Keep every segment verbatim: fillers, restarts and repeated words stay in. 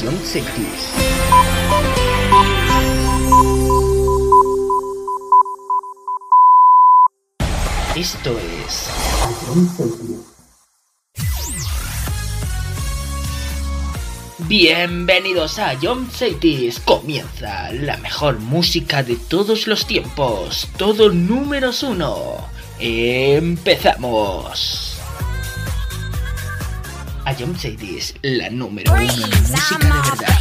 Jump Cities. Esto es bienvenidos a Jump Cities. Comienza la mejor música de todos los tiempos. Todo números uno. Empezamos. A Jump Cities, la número uno en música de verdad.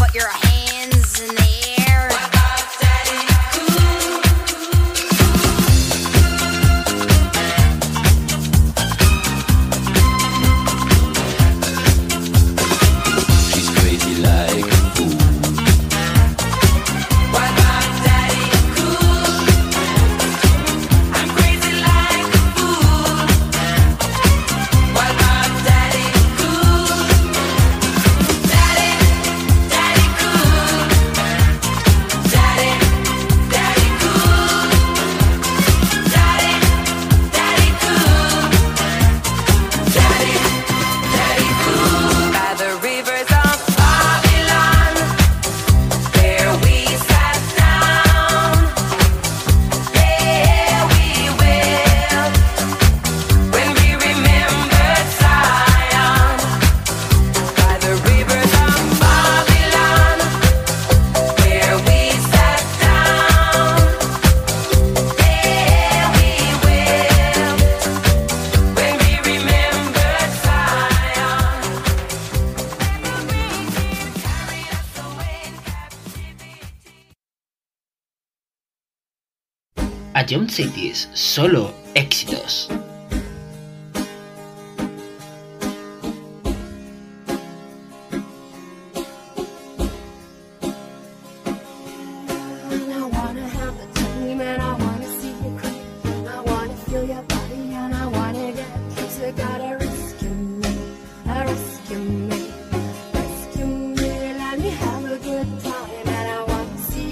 A Jump Cities, solo éxitos.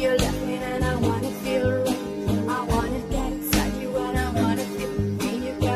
You got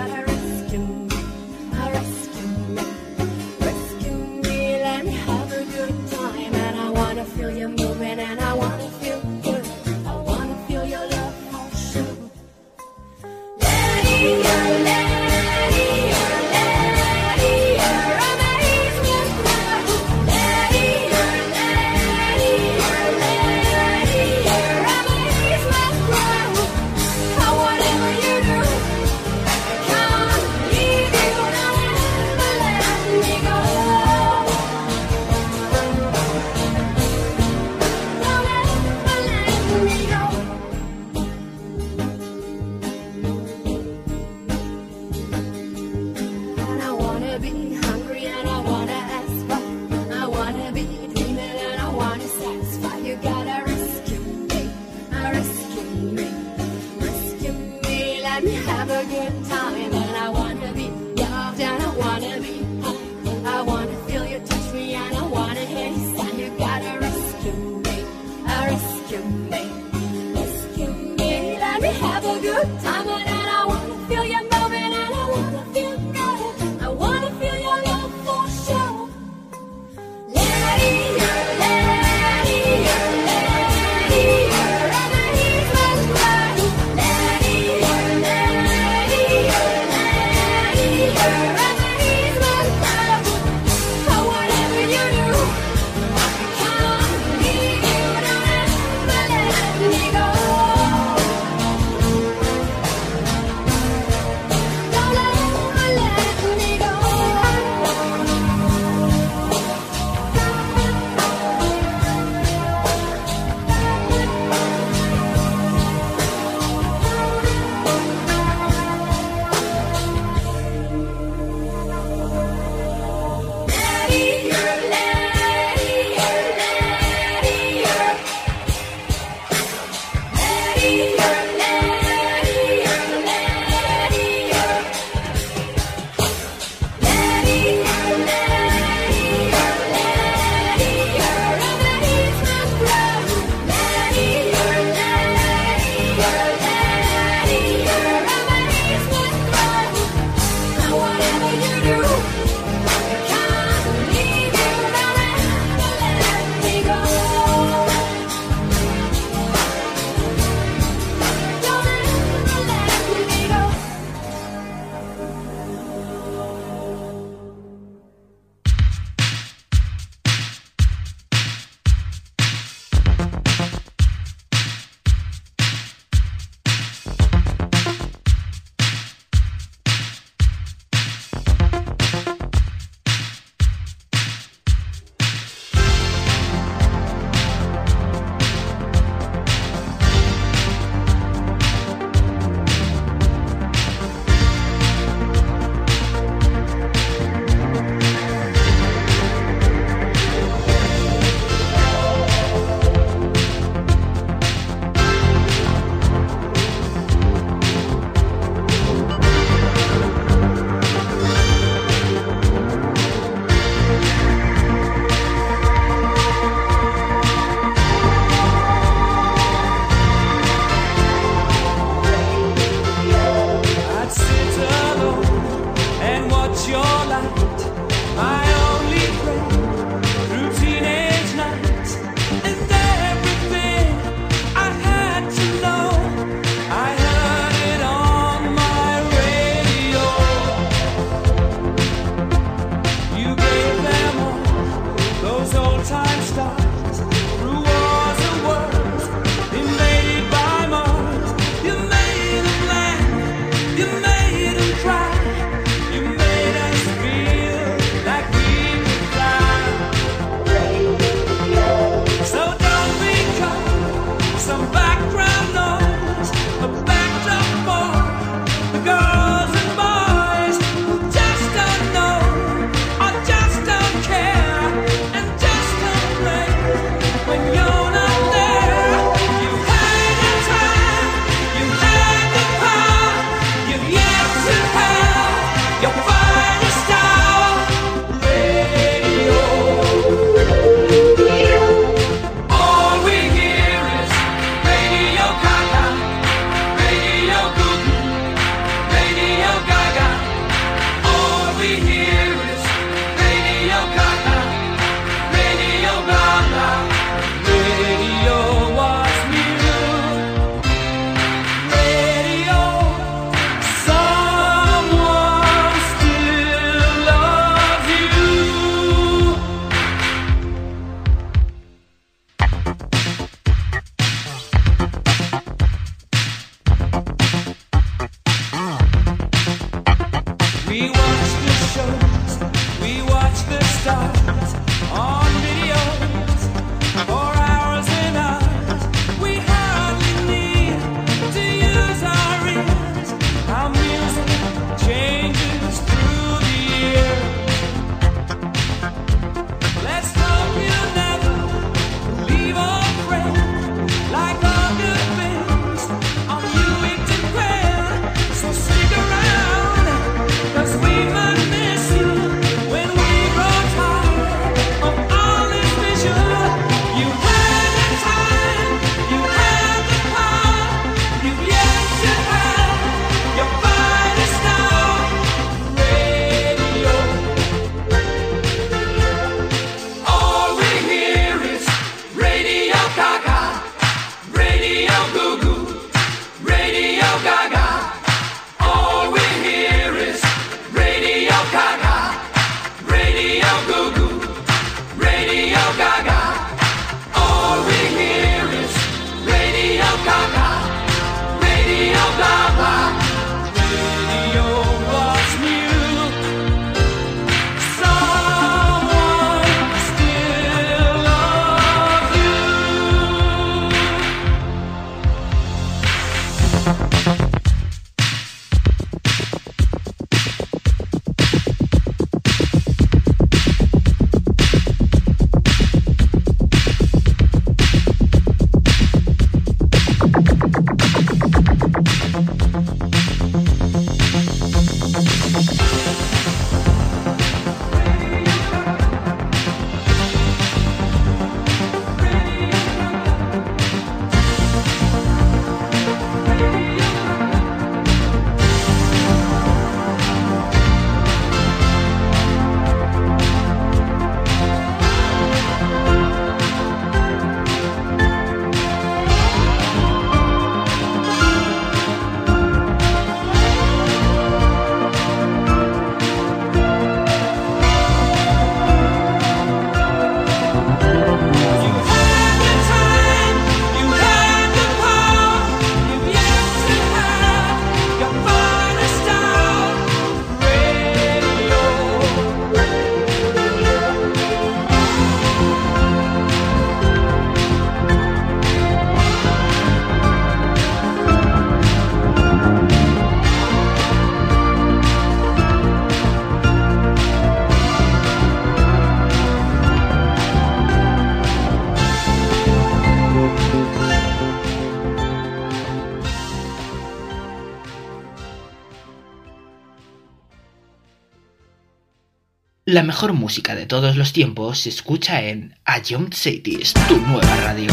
La mejor música de todos los tiempos se escucha en A Young Cities, tu nueva radio.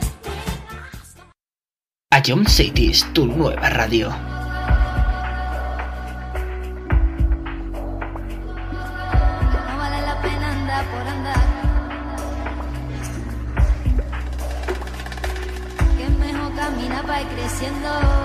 A Young Cities, tu nueva radio. pa' ir creciendo.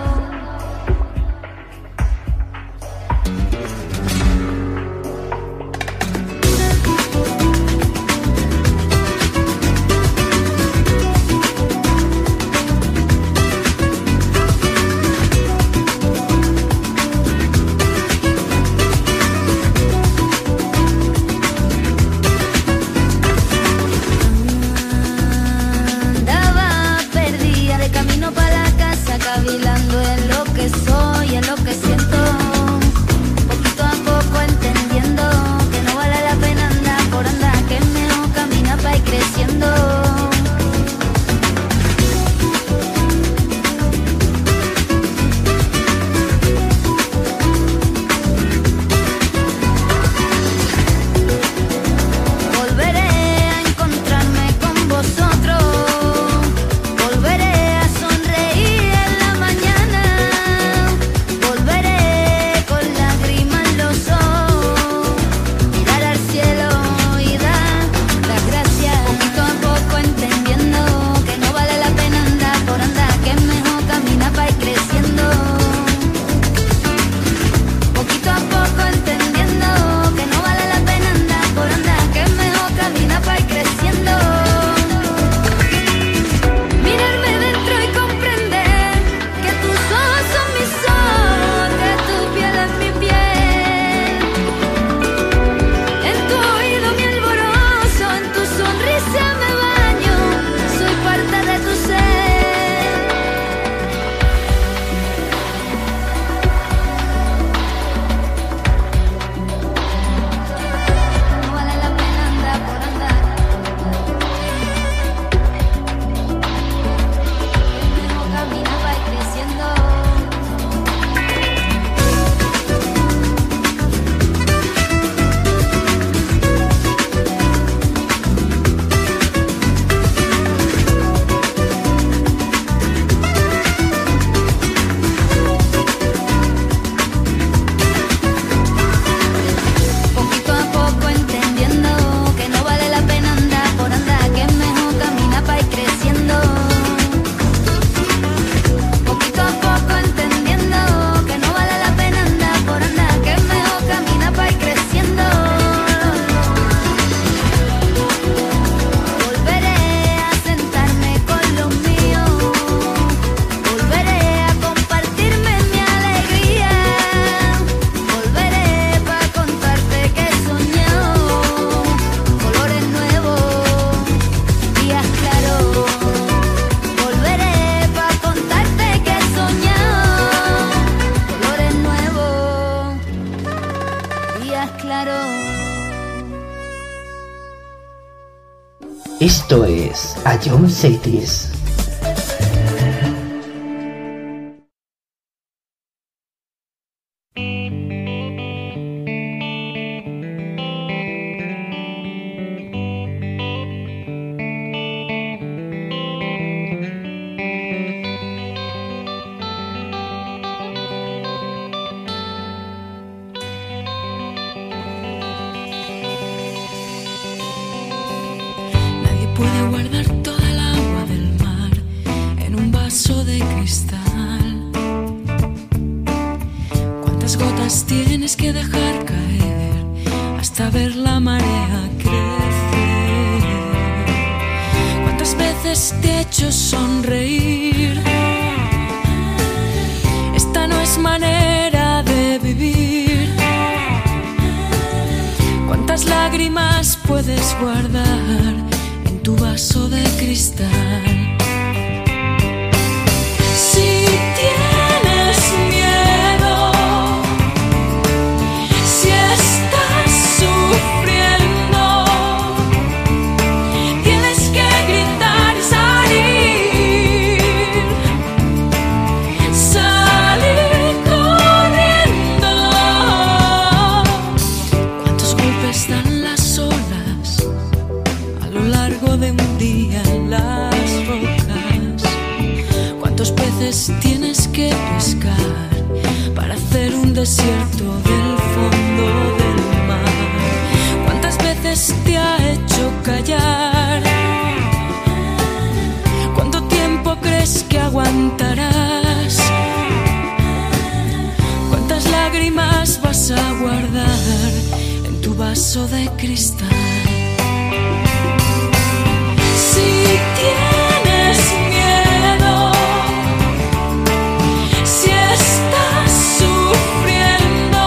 Cavilando en lo que soy, en lo que siento, poquito a poco entendiendo que no vale la pena andar por andar, que es mejor caminar para ir creciendo. Volveré a encontrarme con vosotros. Esto es A John Cities. Puede guardar toda el agua del mar en un vaso de cristal. ¿Cuántas gotas tienes que dejar caer hasta ver la marea crecer? ¿Cuántas veces te he hecho sonreír? Esta no es manera de vivir. ¿Cuántas lágrimas puedes guardar tu vaso de cristal? Si tienes miedo, si estás sufriendo, tienes que gritar y salir, salir corriendo. ¿Cuántos golpes dan las olas a lo largo de un día en las rodillas? vaso de cristal. Si tienes miedo, si estás sufriendo,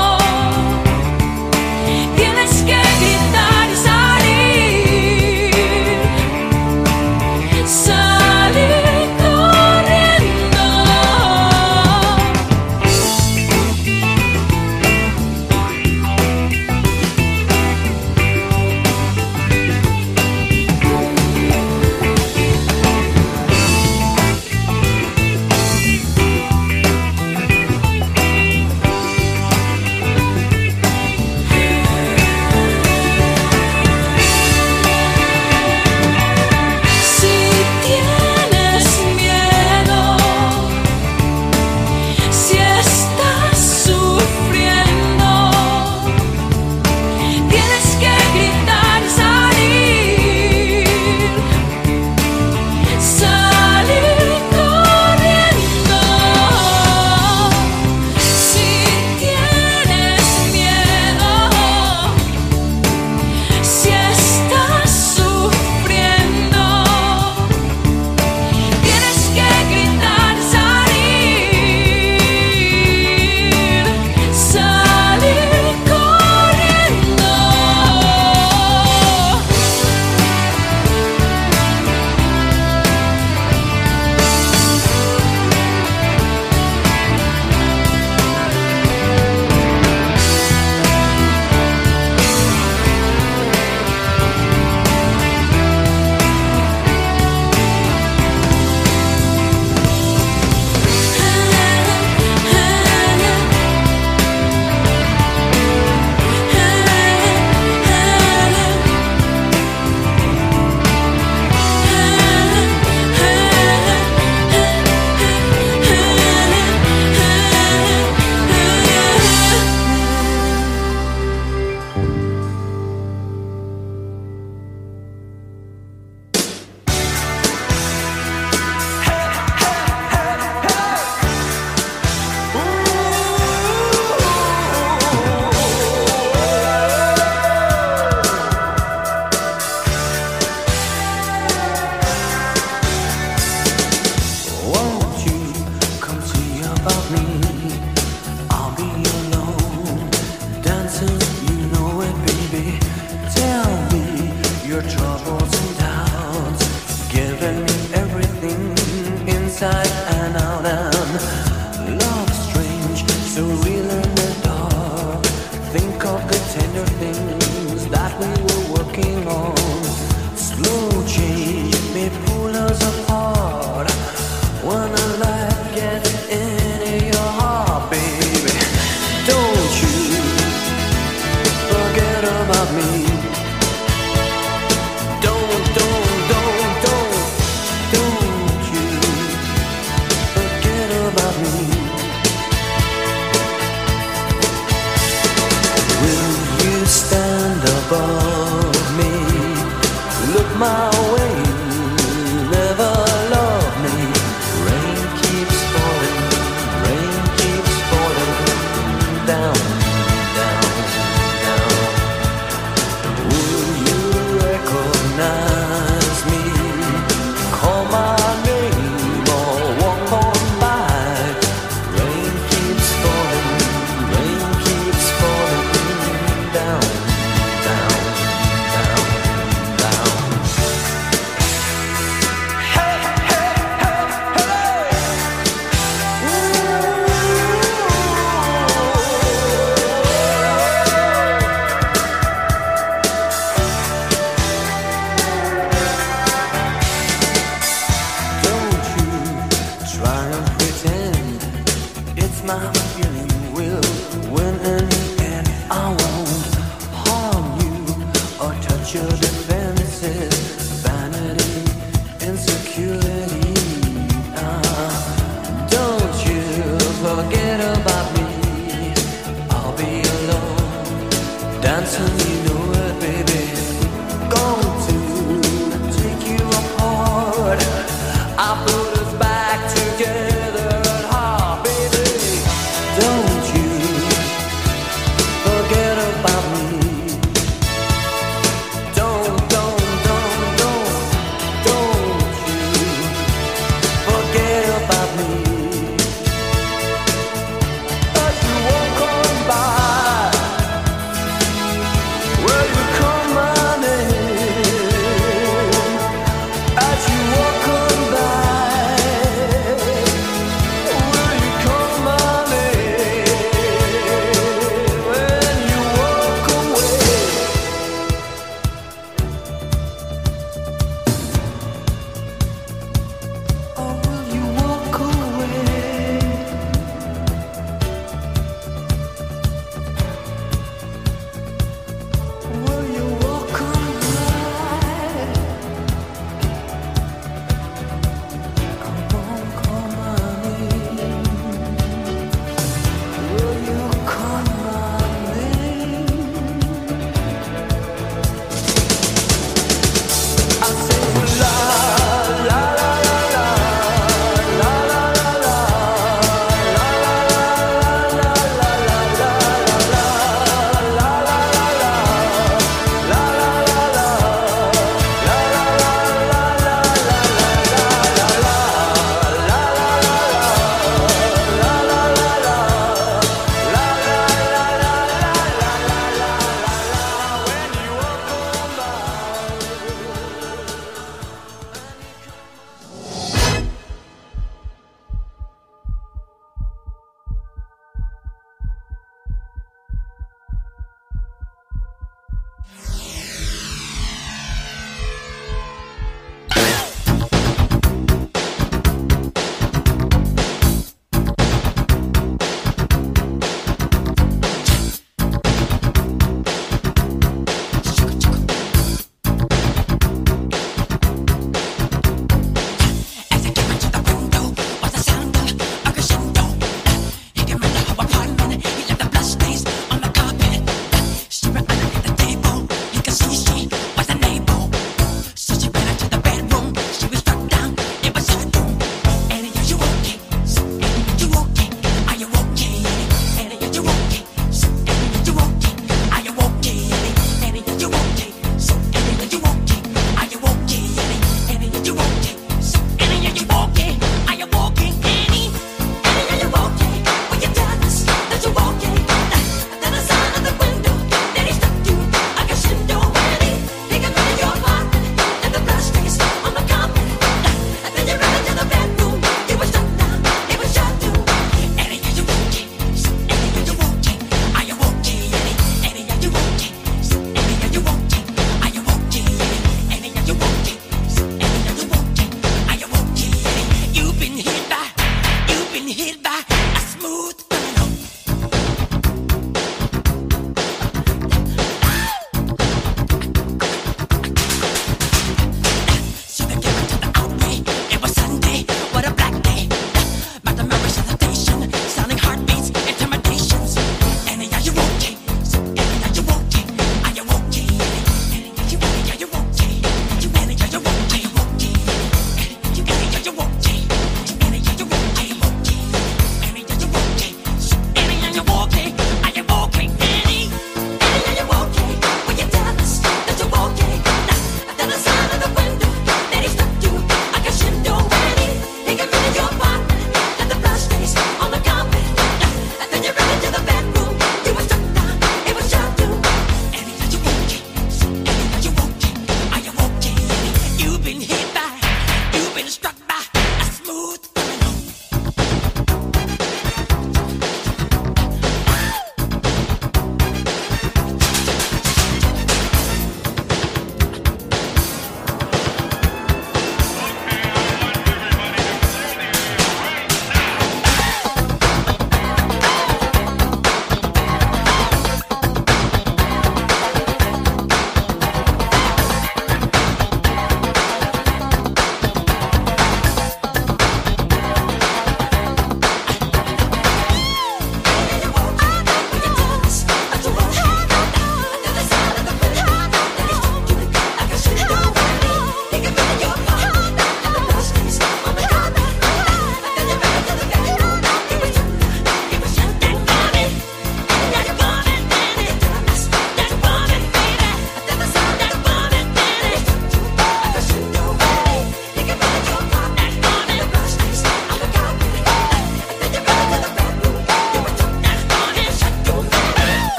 tienes que gritar y salir, salir corriendo.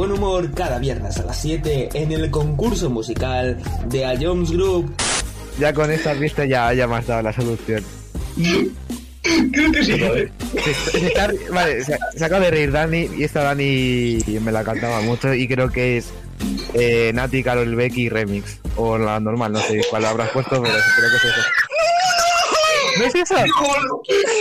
buen humor cada viernes a las siete en el concurso musical de A Jones Group. Ya con esta pista ya, ya me has dado la solución. Creo que sí, ¿vale? Se, se está, vale, se, se acaba de reír Dani y esta Dani me la cantaba mucho y creo que es eh, Nati, Karol Becky remix o la normal, no sé cuál habrás puesto, pero creo que es eso. ¿No es eso? ¡Qué bueno!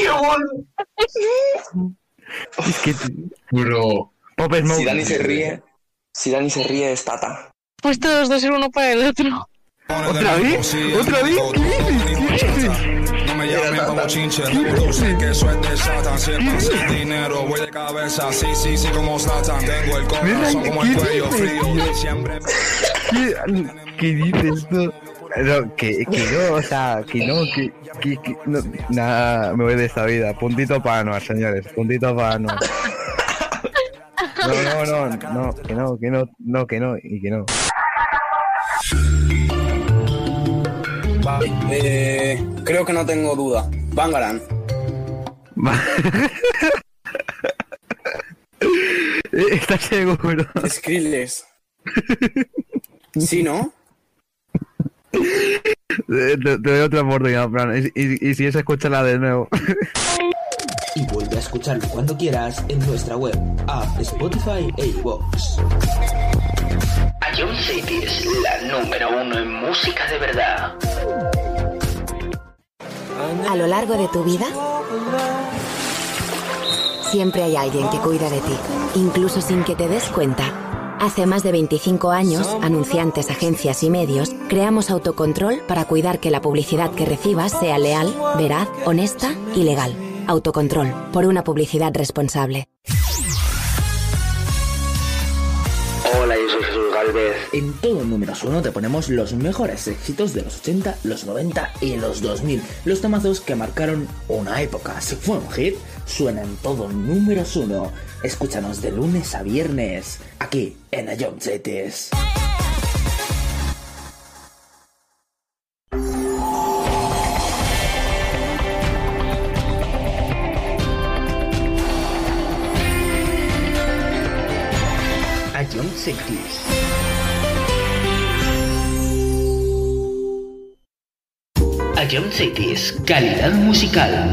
¡Qué bueno! Es que... Bro. Pop Smoke. Si Dani se ríe, si Dani se ríe es Tata. Pues todos dos ser uno para el otro. ¿Otra vez? ¿Otra vez? ¿Qué dices? No me llamen como chinche, tú sé que eso es de Satan. Si pasa el dinero, voy de cabeza, sí, sí, sí, como Satan. Tengo el corazón como el cuello frío, siempre... ¿Qué, ¿Qué dices tú? No, que, que no, o sea, que no, que, que, que no, nada, me voy de esta vida. Puntito para Anuar, señores, puntito para Anuar. No, no, no, no, que no, que no, no, que no, y que no. Vale, eh, creo que no tengo duda. Bangarang. ¿Estás seguro? Skrillex. ¿Sí, no? Te, te doy otra oportunidad, Fran. Y, y, y si es, escúchala de nuevo. Y vuelve a escucharlo cuando quieras en nuestra web, app, Spotify e iVoox. A John City es la número uno en música de verdad. A lo largo de tu vida, siempre hay alguien que cuida de ti, incluso sin que te des cuenta. Hace más de veinticinco años, anunciantes, agencias y medios, creamos Autocontrol para cuidar que la publicidad que recibas sea leal, veraz, honesta y legal. Autocontrol, por una publicidad responsable. Hola, yo soy Jesús Galvez. En todo Números uno te ponemos los mejores éxitos de los ochenta, los noventa y los dos mil. Los temazos que marcaron una época. Si fue un hit, suena en todo Números uno. Escúchanos de lunes a viernes, aquí en A John Cities. A John Cities. A John Cities, calidad musical.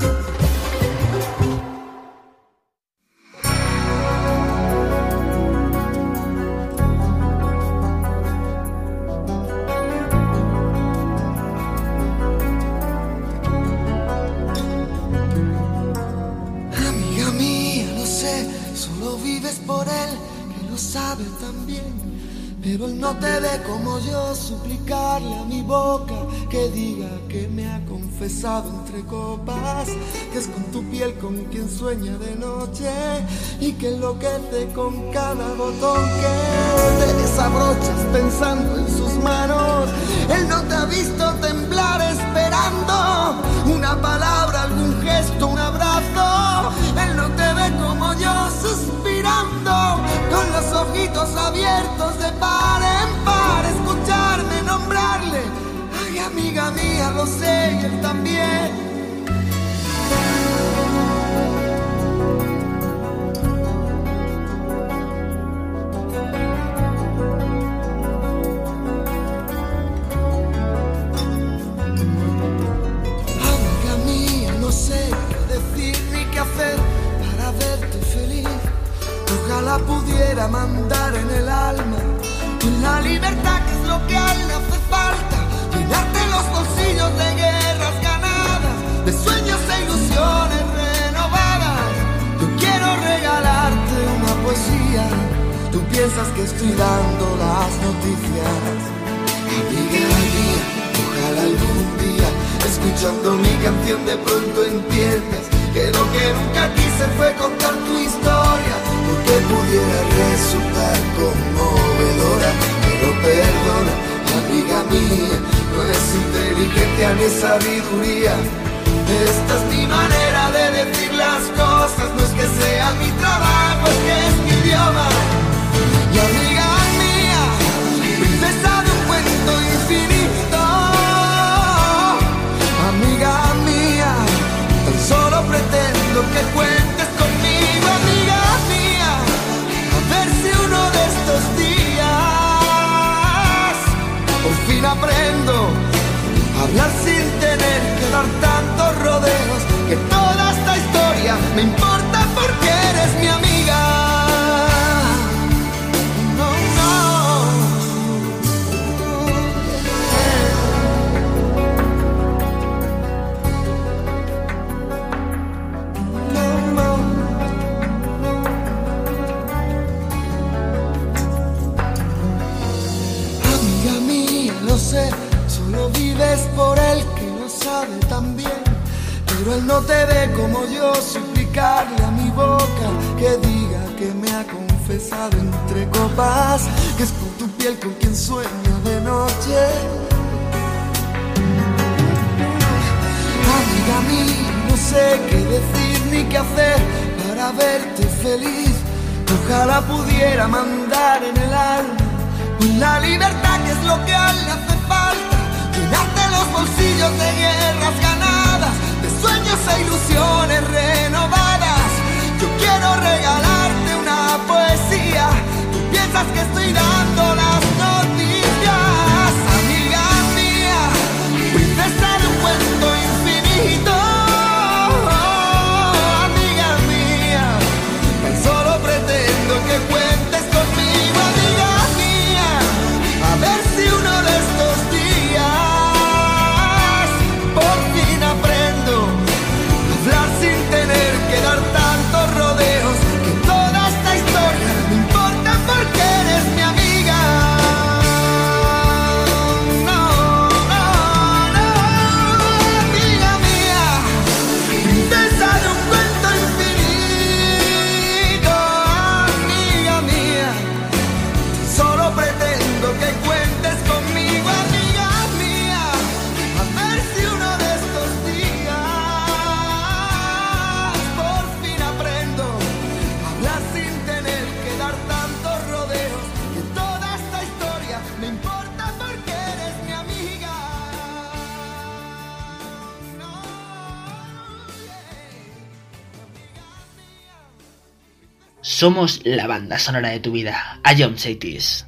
Amiga mía, lo sé, solo vives por él, que lo sabe también. Pero él no te ve como yo, suplicarle a mi boca que diga que me ha confesado entre copas, que es con tu piel con quien sueña de noche y que enloquece con cada botón que te desabrochas pensando en sus manos. Él no te ha visto temblar esperando una palabra, algún gesto, un abrazo. Él no te ve como yo suspirando con los ojitos abiertos de par en par, escucharme nombrarle. Ay, amiga mía, lo sé y él también. Amiga mía, no sé qué decir ni qué hacer para verte feliz. Ojalá pudiera mandar en el alma con la libertad que es lo que a él le hace falta, llenarte los bolsillos de guerras ganadas, de sueños e ilusiones renovadas. Yo quiero regalarte una poesía, tú piensas que estoy dando las noticias. Amiga mía, ojalá algún día, escuchando mi canción de pronto entiendas que lo que nunca quise fue contar tu historia, porque pudiera resultar conmovedora. Pero perdona, amiga mía, no es inteligencia ni sabiduría. Esta es mi manera de decir las cosas, no es que sea mi trabajo, es que es mi idioma. Y amiga mía, princesa de un cuento infinito, amiga mía, tan solo pretendo que cuentes conmigo, amiga mía, a ver si uno aprendo a hablar sin tener que dar tantos rodeos, que toda esta historia me importa porque eres mi amiga. No, no, no, no. Amiga mía, lo sé, solo vives por él que lo sabe tan bien. Pero él no te ve como yo, suplicarle a mi boca que diga que me ha confesado entre copas, que es por tu piel con quien sueño de noche. Amiga mía, no sé qué decir ni qué hacer para verte feliz. Ojalá pudiera mandar en el alma la libertad, que es lo que a él le hace falta. Llenarte los bolsillos de guerras ganadas, de sueños e ilusiones renovadas. Yo quiero regalarte una poesía. Tú piensas que estoy dando las noticias. Amiga mía, princesa de un cuento infinito. Amiga mía, tan solo pretendo que cuentes conmigo. Amiga mía, a ver si uno de estos días por fin aprendo a hablar sin tener que dar tantos rodeos, que toda esta historia me importa porque eres mi amiga. No, no, no, amiga mía, princesa de un cuento infinito. Amiga mía, solo pretendo que cuentes conmigo. Amiga mía, a ver si uno de estos días por fin aprendo a hablar sin tener que dar tantos rodeos, que toda esta historia me importa porque eres mi amiga. No, Somos la banda sonora de tu vida. A John Chaitis.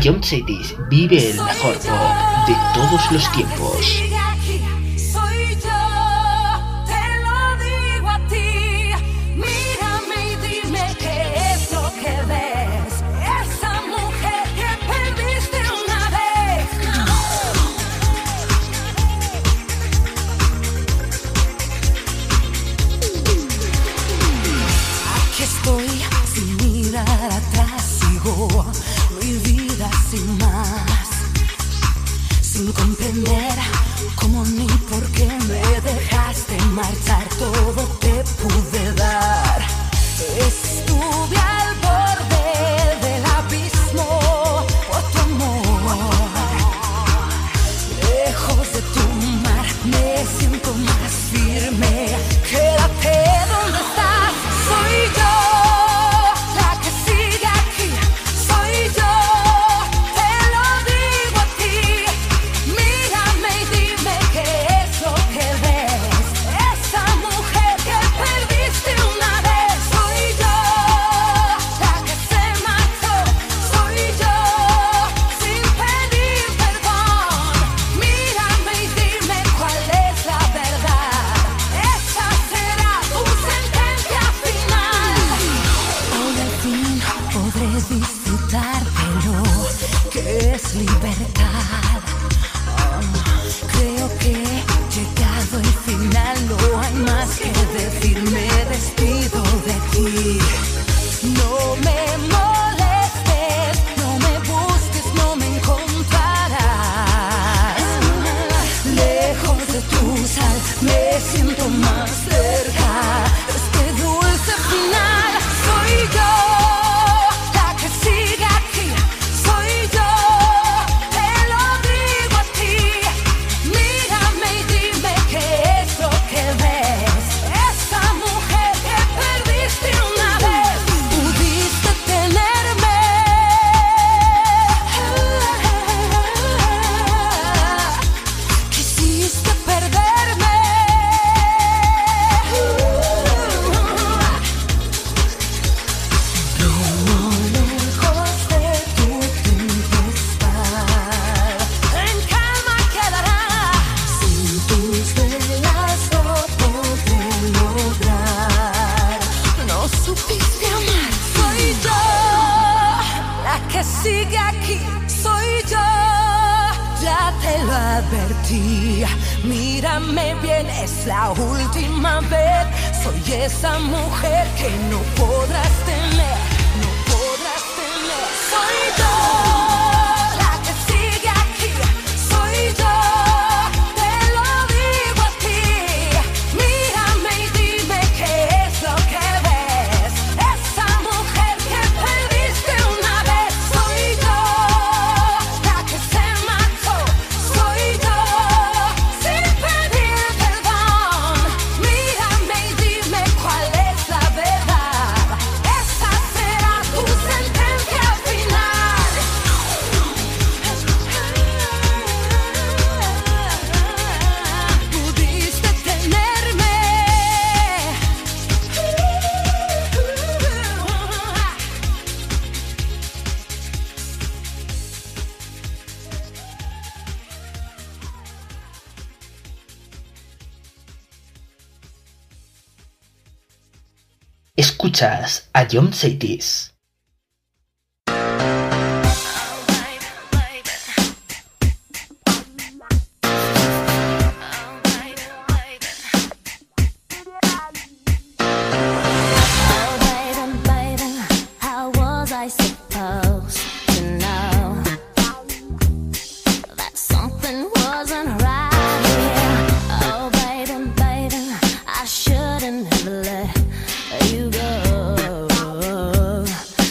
Ion Cities vive el mejor pop de todos los tiempos. Mi vida sin más, sin comprender cómo ni por qué me dejaste marchar. Todo te pude dar. Estuve al borde del abismo por tu amor. Lejos de tu mar me siento más firme. Quédate donde estás, soy yo. Libertad. Oh, creo que llegado el final, no hay más que decir. Me despido de ti. No me molestes, no me busques, no me encontrarás. Lejos de tu sal, me siento más cerca. Este dulce final soy yo. Sigue aquí, soy yo, ya te lo advertí. Mírame bien, es la última vez. Soy esa mujer que no podrás tener, no podrás tener. Soy yo, la que sigue aquí, soy yo. Te lo digo a ti. Mírame y dime qué es lo que ves. Esa mujer que perdiste una vez. Escuchas a Ion Cities. You go.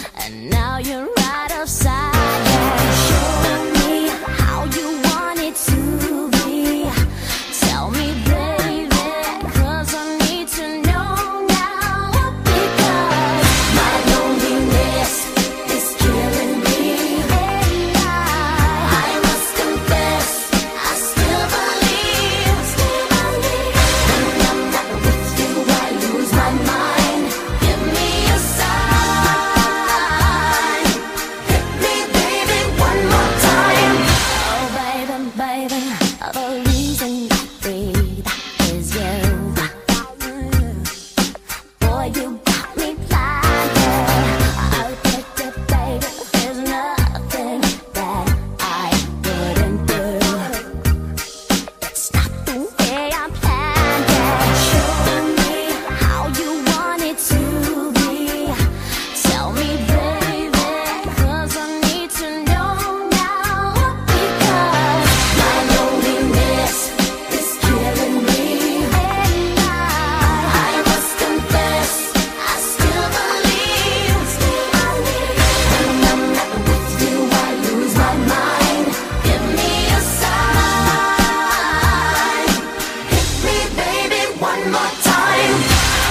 one more time.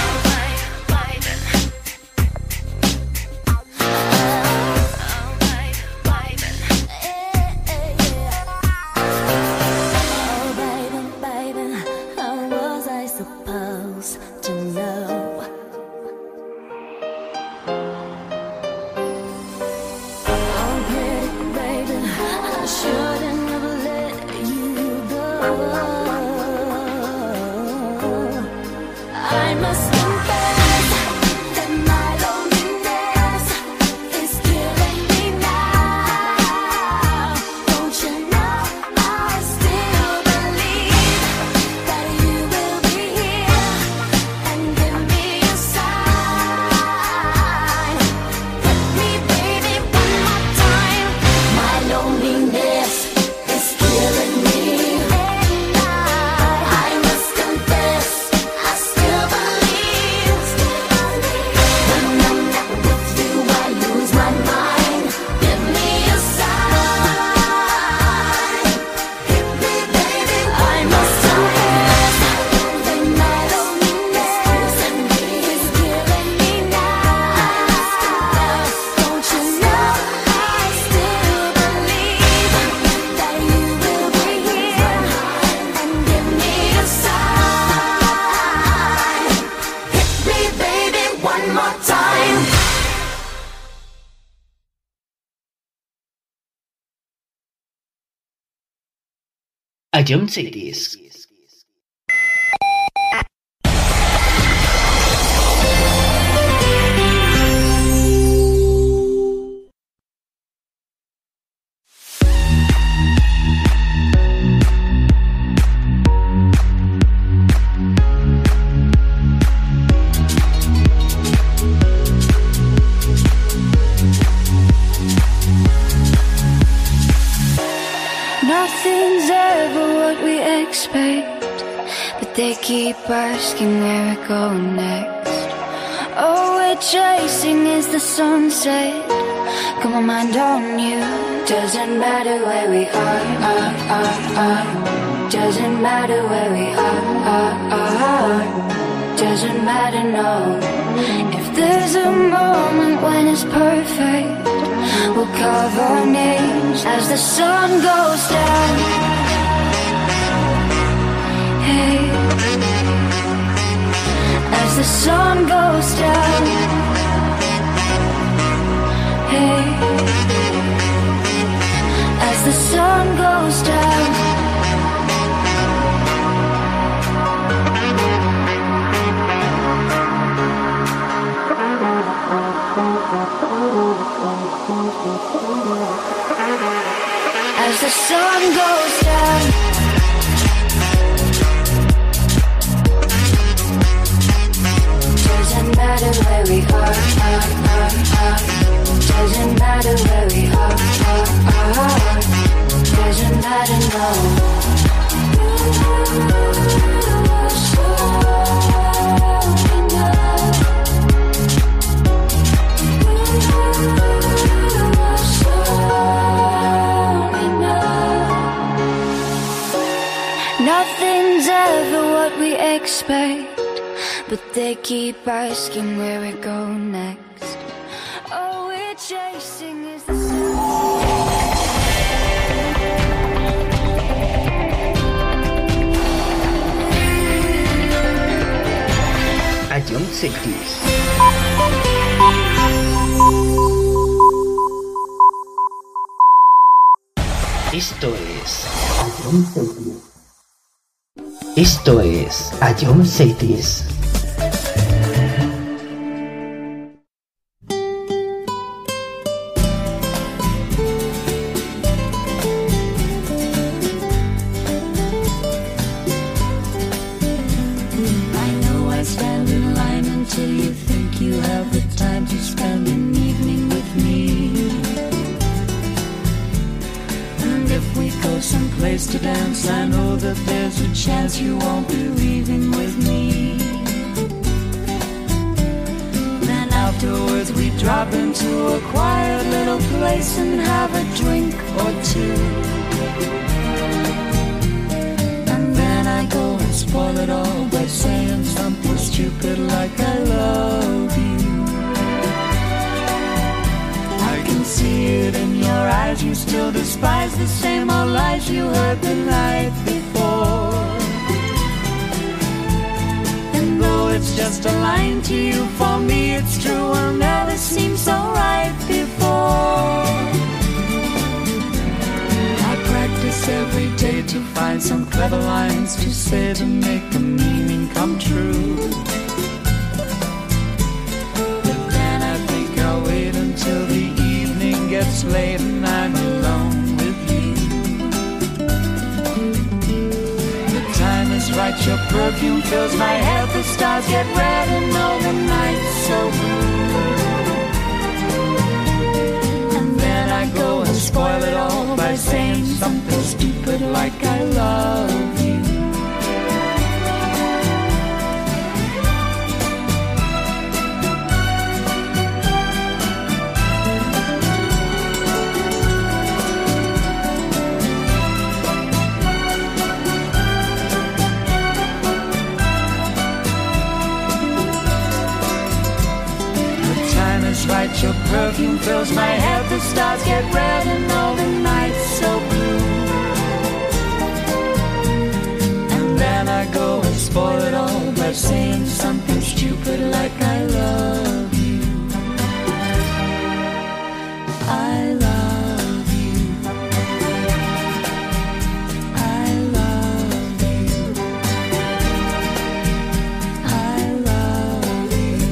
Ion Cities. Nothing's ever what we expect, but they keep asking where we're going next. All we're chasing is the sunset. Got my mind on you. Doesn't matter where we are, are, are, are. Doesn't matter where we are, are, are. Doesn't matter, no. If there's a moment when it's perfect, we'll carve our names as the sun goes down. Hey, as the sun goes down. Hey, as the sun goes down. As the sun goes down. Doesn't matter where we are, are, are, are. Doesn't matter where we are, are, are. Doesn't matter, no. Nothing's ever what we expect, but they keep asking where we go next. All we're chasing is the sun. Ion Cities. Esto es Ion Cities. Esto es Ion Cities. To dance, I know that there's a chance you won't be leaving with me. Then afterwards we drop into a quiet little place and have a drink or two. And then I go and spoil it all by saying stupid like I love you. I can see it in your eyes, you still despise the same old lies you heard the night before. And though it's just a line to you, for me it's true, will never seem so right before. I practice every day to find some clever lines to say to make the meaning come true. But then I think I'll wait until the evening gets late and I'm alone with you. The time is right, your perfume fills my head, the stars get red and all the night's so blue. And then I go and spoil it all by saying something stupid like I love you. Right, your perfume fills my head, the stars get red and all the night's so blue. And then I go and spoil it all by saying something stupid like I love you. I love you. I love you. I love you.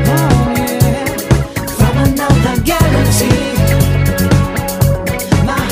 My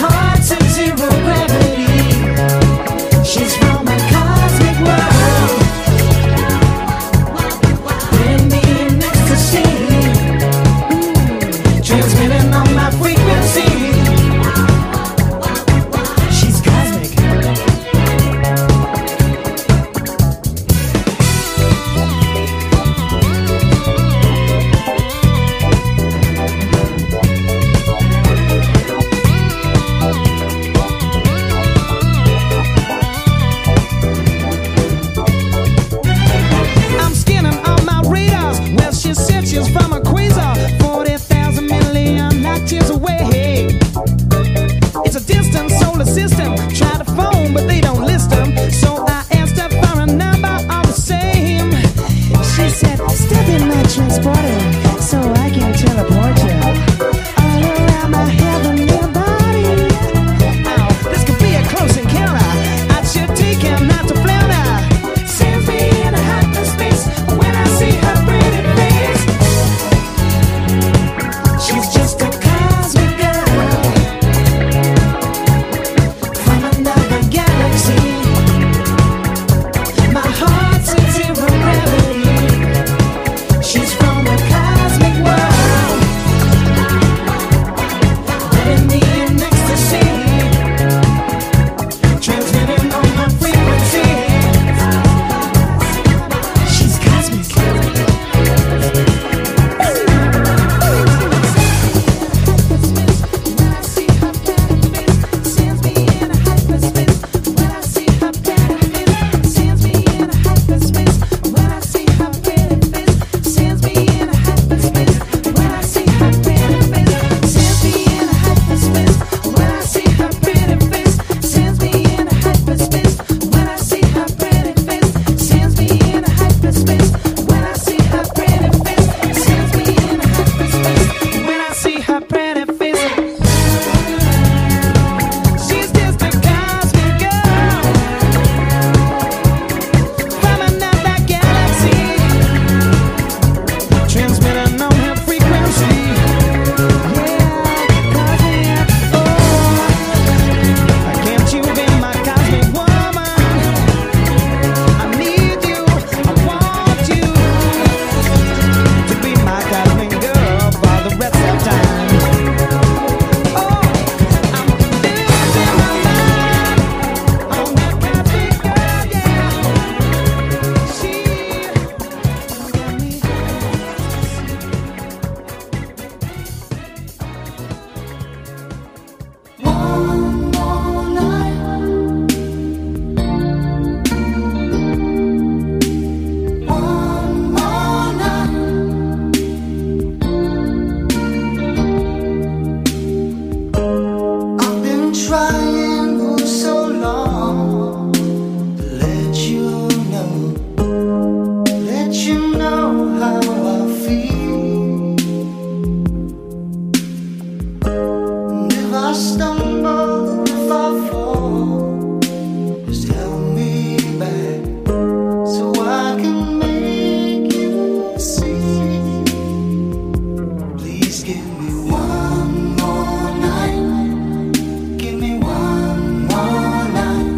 stumble, if I fall, just help me back so I can make you see. Please give me one more night. Give me one more night.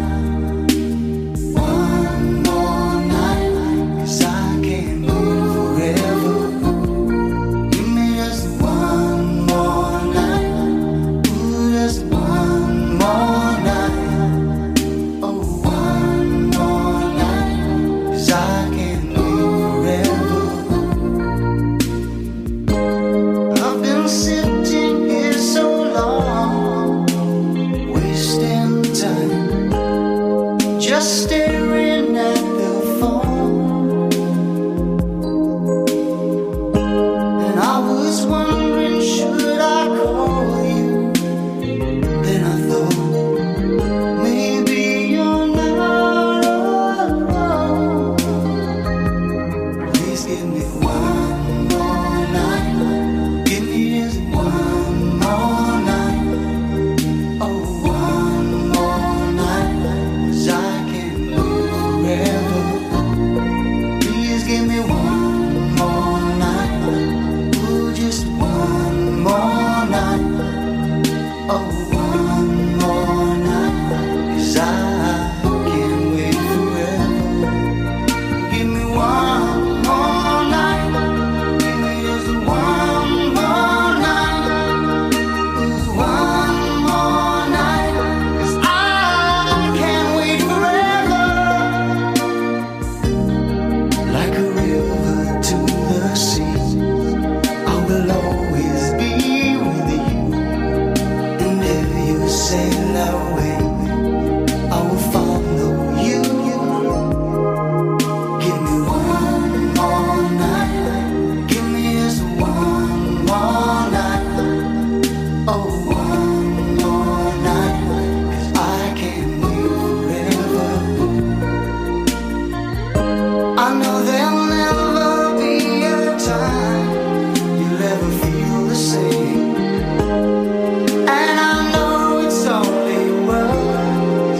One more night, 'cause I can't live forever. Give me just one more night. Ooh, just one more night. Oh, one more night, 'cause I can't live forever. I've been sitting here so long, wasting time, just staring at the phone. And I was wondering, should I call you? Then I thought, maybe you're not alone. Please give me one more night. Give me just one more night. Oh, one more night, 'cause I can't live forever. Please give me one more night. Ooh, just one more night. Oh, one more night, 'cause I can't wait forever. Give me one more night. Give me just one more night. Ooh, one more night, 'cause I can't wait forever. Like a river to the sea, I will always be with you. And if you sail away, I will follow you. Give me one more night. Give me just one more night. Oh, one more night, 'cause I can't live forever. I know there'll never be a time you'll ever feel the same. And I know it's only words,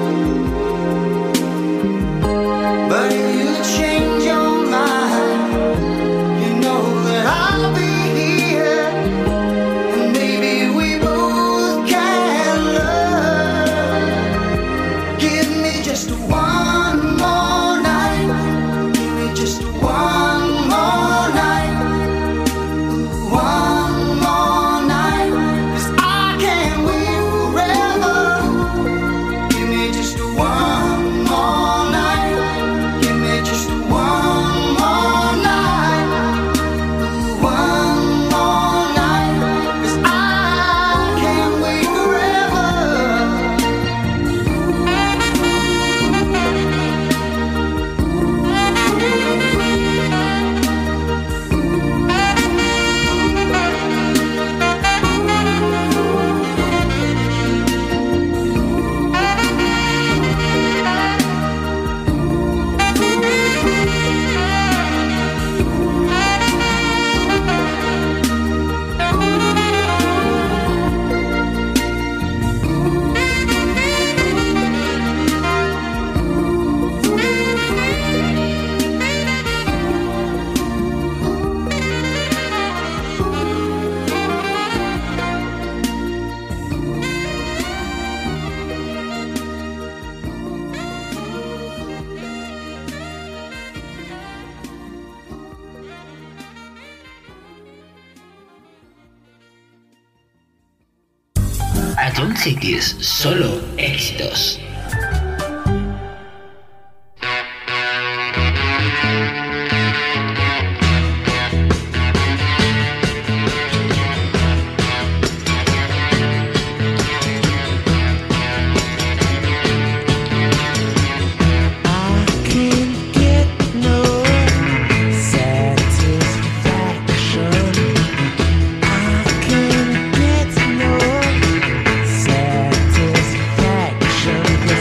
but if you change your mind, you know that I'll be here. And maybe we both can learn. Give me just one more night. Give me just one more night. Ooh, one more night, 'cause I can't wait forever. Give me just one more night. Give me just one more night. Ooh, one more night, 'cause I can't wait forever. Ion Cities, solo éxitos. Satisfaction.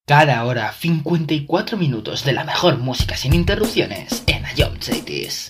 Cada hora, cincuenta y cuatro minutos de la mejor música sin interrupciones en Ion Cities.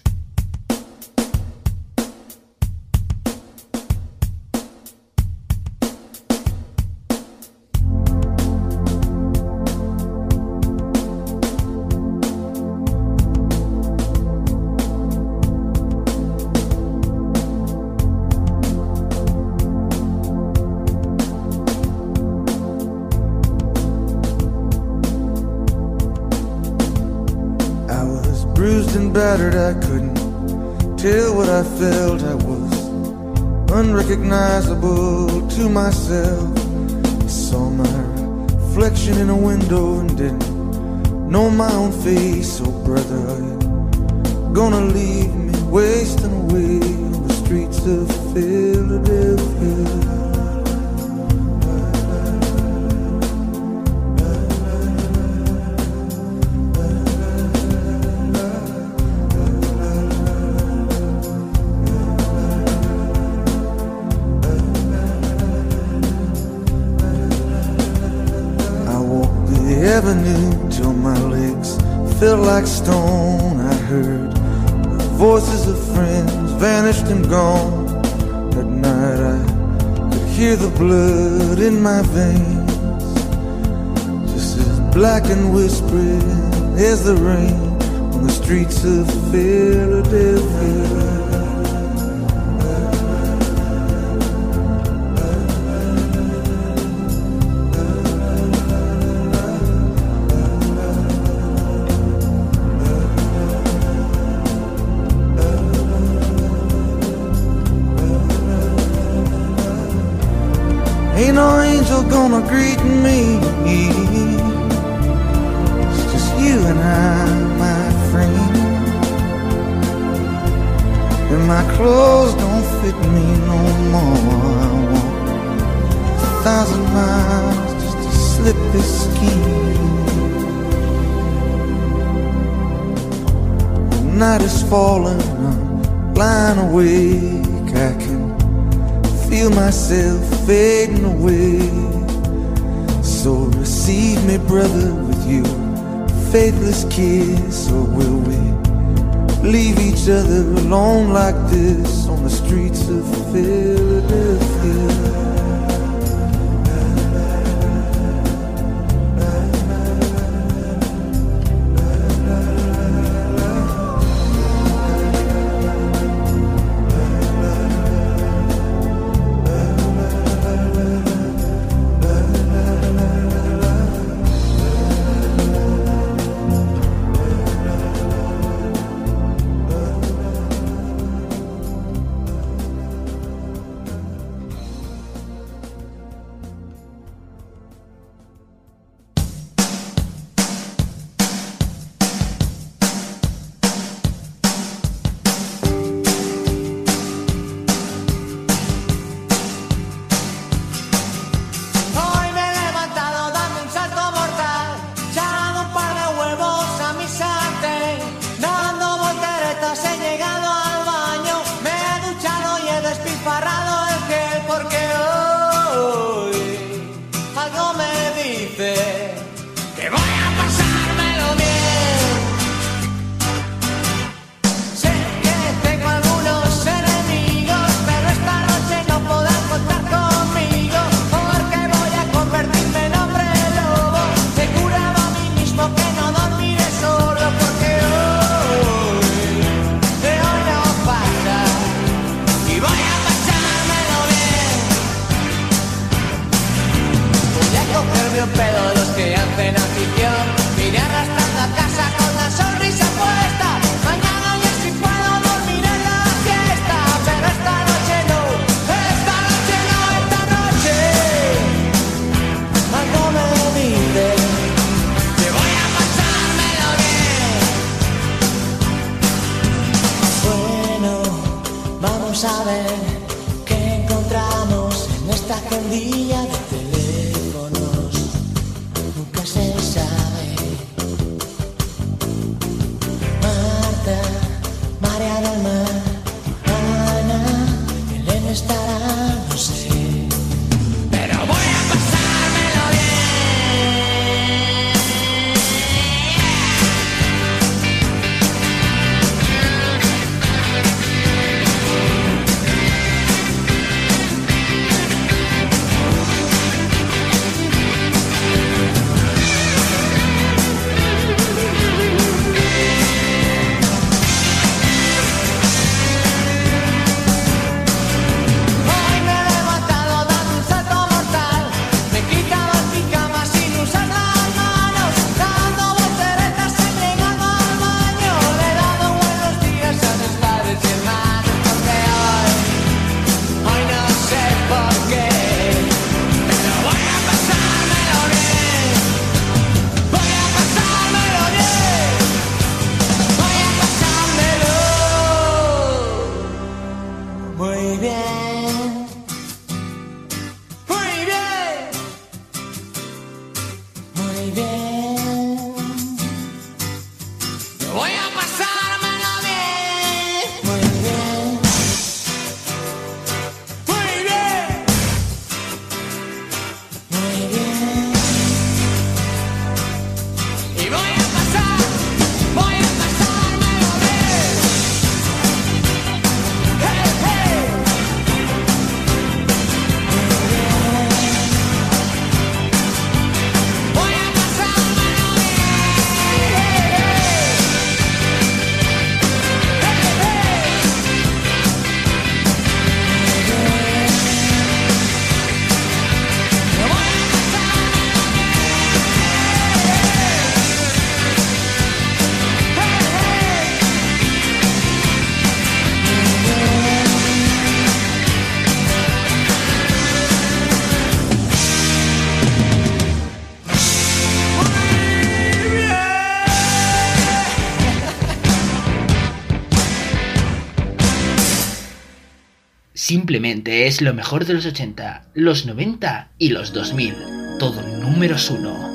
Battered, I couldn't tell what I felt. I was unrecognizable to myself. I saw my reflection in a window and didn't know my own face. Oh brother, are you gonna leave me wasting away on the streets of Philadelphia? Till my legs felt like stone. I heard the voices of friends vanished and gone. At night I could hear the blood in my veins, just as black and whispering as the rain on the streets of Philadelphia. Ain't no angel gonna greet me. It's just you and I, my friend. And my clothes don't fit me no more. I walk a thousand miles just to slip this skin. The night is falling, I'm lying awake. I can feel myself fading away. So receive me, brother, with your faithless kiss. Or will we leave each other alone like this on the streets of Philadelphia? Vamos a ver qué encontramos en esta agendilla de teléfonos. Nunca se sabe. Marta, María del Mar, Ana, Elena estará, no sé. Pero voy a pasármelo bien. Voy a pasármelo bien. Muy bien. Muy bien. Muy bien. Y voy a pasar, voy a pasármelo bien. Hey, hey. Voy a pasármelo Simplemente es lo mejor de los ochenta, los noventa y los dos mil. Todo números uno.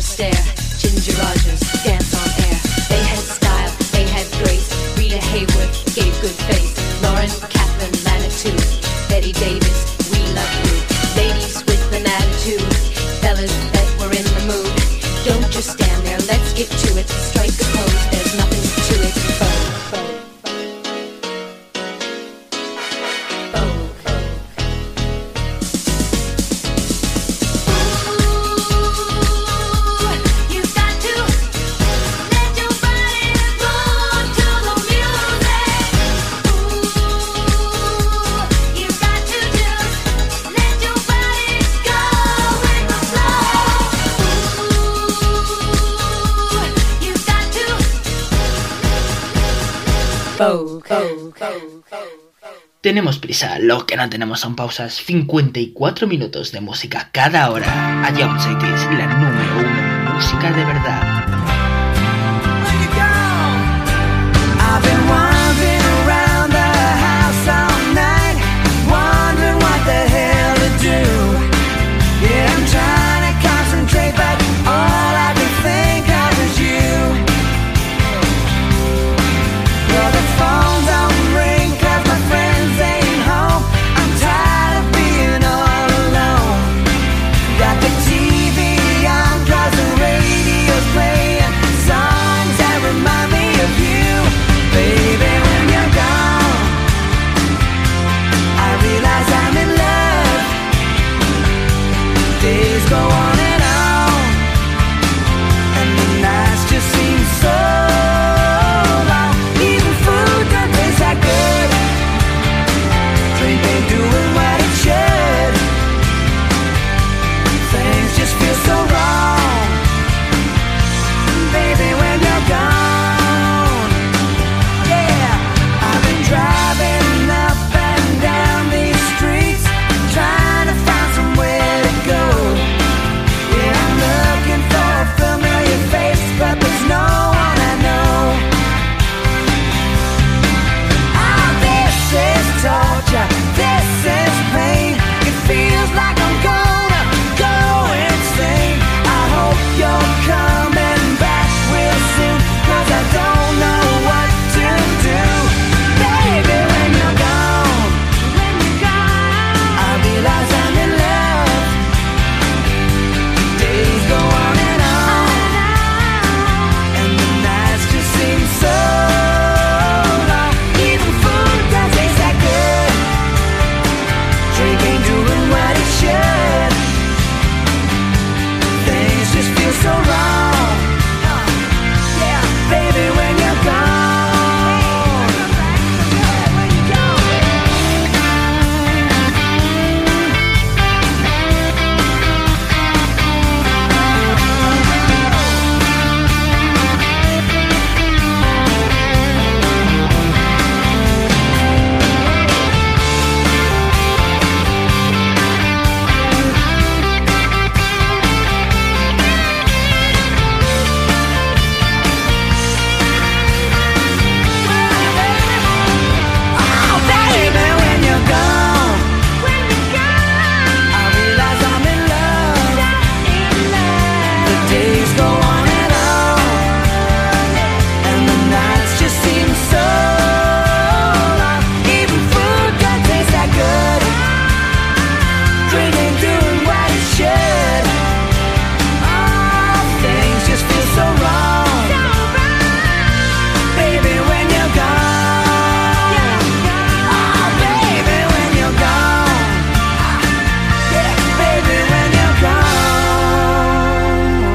stare. Ginger Rogers, dance on air. They had style, they had grace. Rita Hayworth gave good face. Lauren, Catherine, Manitou. Betty Davis, we love you. Ladies with an attitude. Fellas that were in the mood. Don't just stand there, let's get to it. Strike a pose, there's nothing to it. Vogue, vogue, vogue, vogue. Ooh, you got to let your body move to the music. Ooh, you got to just let your body go with the flow. Ooh, you got to vogue, vogue, vogue, vogue. Tenemos prisa, lo que no tenemos son pausas. cincuenta y cuatro minutos de música cada hora. A Jump City es la número uno en música de verdad. I've been wandering around the house all night, wondering what the hell to do. Yeah, I'm trying to concentrate, but all I can think of is you. Well, the phone don't ring 'cause my friends ain't home. I'm tired of being all alone. Got the T V on 'cause the radio's playing songs that remind me of you. Baby, when you're gone, I realize I'm in love. Days go on and on, and the nights just seem so long. Even food don't taste that good. Drink ain't doing what it should. Things just feel so wrong. Baby, when you're gone, yeah, I've been driving up and down these streets, trying to find somewhere to go. Yeah, I'm looking for a familiar face, but there's no one I know. Oh, this is torture, this is pain. It feels like I'm gonna go insane. I hope you're coming back real soon, 'cause I don't know what to do. Baby, when you're gone, when you're gone, I realize I'm in love. Days go on and on, and the nights just seem so long. Even food don't taste that good. Drink ain't doing what it should. Things just feel so wrong. Yeah, baby, when you're gone. When you're gone. Oh, baby, when you're gone, when you're gone, I realize I'm in love. The days go on and on, and the nights just seem so long. Even food don't taste that good. Drink ain't doing what it should. Oh, things just feel so wrong. Baby, when you're gone. Oh, baby, when you're gone. Yeah, baby, when you're gone.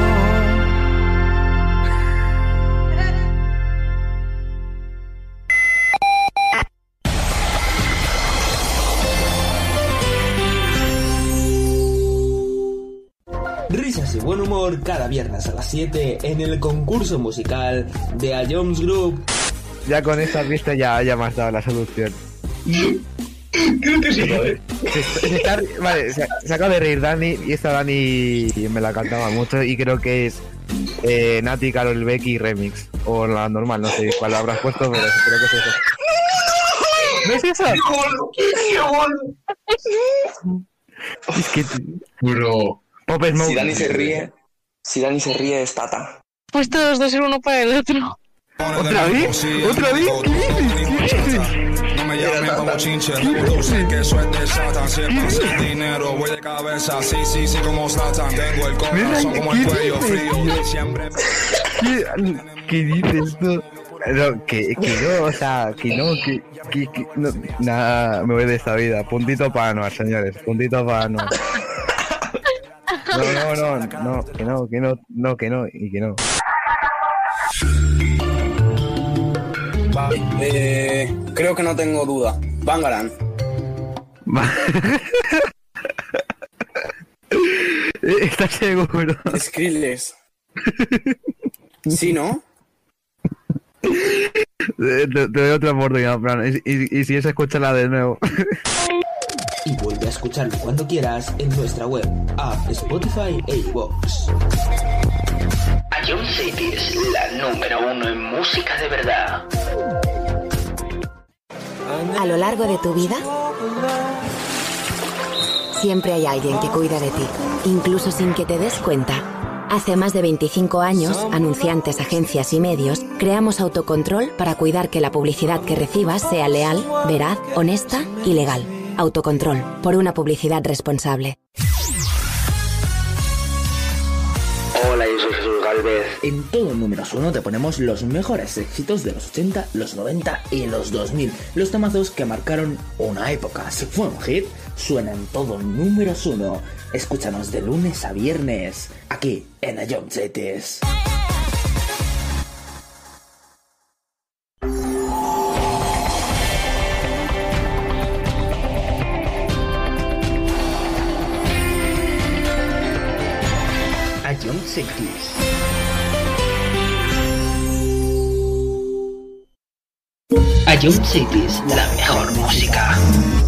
Risas y buen humor cada viernes a las siete en el concurso musical de A Jones Group. Ya con esta pista ya, ya me has dado la solución. Creo que sí, ¿vale? Se, se está, vale, se, se acaba de reír Dani y esta Dani me la cantaba mucho y creo que es eh, Nati, Karol Becky remix o la normal, no sé cuál habrás puesto, pero creo que es eso. ¿No es eso? ¡Qué gol! ¡Qué gol! Es que... Bro. Pop Smoke. Si Dani se ríe, Si Dani se ríe es Tata. Pues todos dos ser uno para el otro. ¿Otra vez? ¿Otra vez? ¿Qué dices? ¿Qué dices? No me llamen como chinche, reproduce que eso es de Satan. Si es pasa el dinero, voy de cabeza. Sí, sí, sí, como Satan. Tengo el corazón como el cuello frío. Siempre. ¿Qué, ¿Qué dices tú? No, que, que no, o sea, que no, que, que, que no, nada, me voy de esta vida. Puntito para Anuar, señores, puntito para Anuar. No, no, no, no, que no, que no, no, que no, y que no. Vale, eh, creo que no tengo duda. Bangarang. ¿Estás seguro? Skrillex. ¿Sí, no? Te, te doy otra oportunidad, plan. Y, y, y si es, escúchala de nuevo. Y vuelve a escucharlo cuando quieras en nuestra web, app, Spotify e iVoox. Ion City es la número uno en música de verdad. A lo largo de tu vida, siempre hay alguien que cuida de ti, incluso sin que te des cuenta. Hace más de veinticinco años, anunciantes, agencias y medios, creamos Autocontrol para cuidar que la publicidad que recibas sea leal, veraz, honesta y legal. Autocontrol, por una publicidad responsable. Hola, yo soy Jesús Galvez. En todo Números Uno te ponemos los mejores éxitos de los ochenta, los noventa y los dos mil. Los temazos que marcaron una época. Si fue un hit, suena en todo Números Uno. Escúchanos de lunes a viernes, aquí en Ion Cities. Ion Cities. Ion Cities, la mejor música.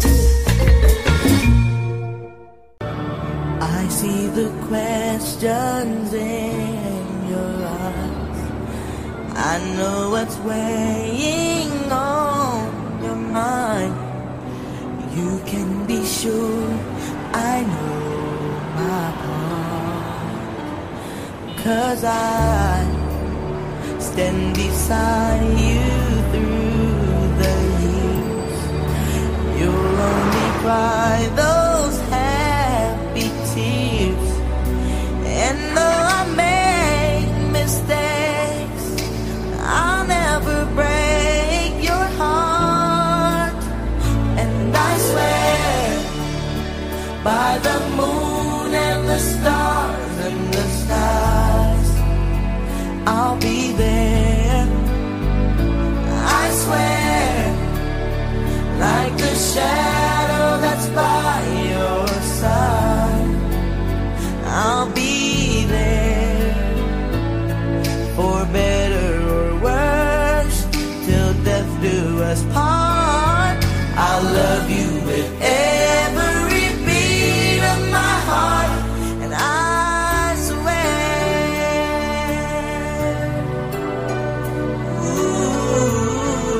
I see the questions in your eyes. I know what's weighing on your mind. You can be sure I know my part. 'Cause I stand beside you through the years. You'll only cry those happy tears. And though I make mistakes, I'll never break your heart. And I swear by the moon and the stars and the skies, I'll be there. I swear, like the shadow that's by your side, I'll be there. For better or worse, till death do us part. I'll love you with every beat of my heart. And I swear, ooh,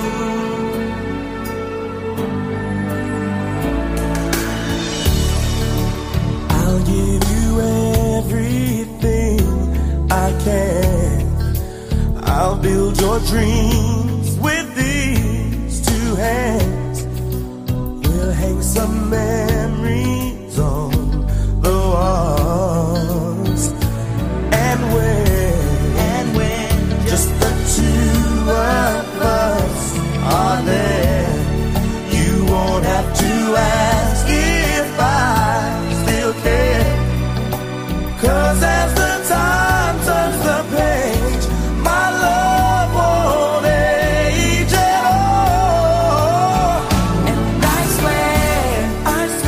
I'll give you everything I can. I'll build your dreams with these two hands. We'll hang some memories on the walls. And when, and when just the two of us are there, you won't have to ask if I still care. 'Cause as the time turns the page, my love won't age at all. And I swear, I swear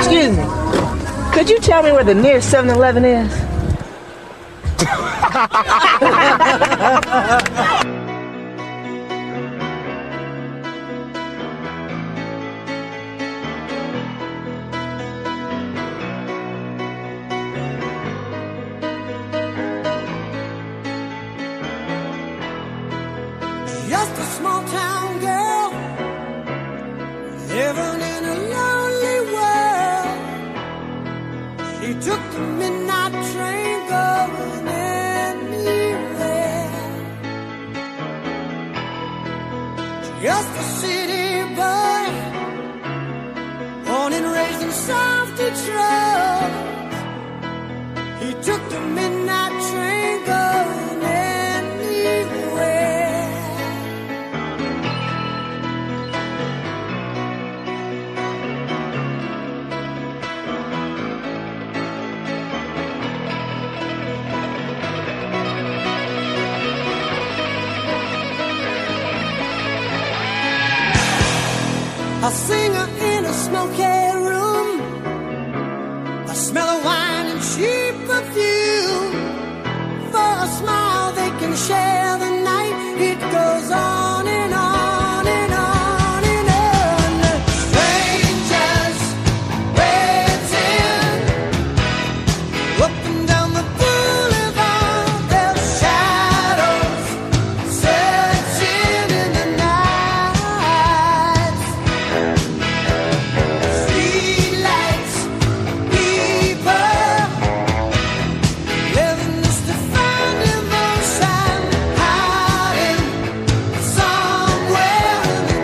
Excuse me. Could you tell me where the nearest seven eleven is? Just a small town girl living in a lonely world. She took the midnight train going anywhere. Just a city boy, born and raised in South Detroit. He took the midnight train going anywhere. A singer in a smoky room, the smell of wine and cheap perfume. For a smile they can share the night. It goes on and on and on and on. Strangers waiting up and down the boulevard. Their shadows searching in the night. Streetlights, people living just to find emotion, hiding somewhere in the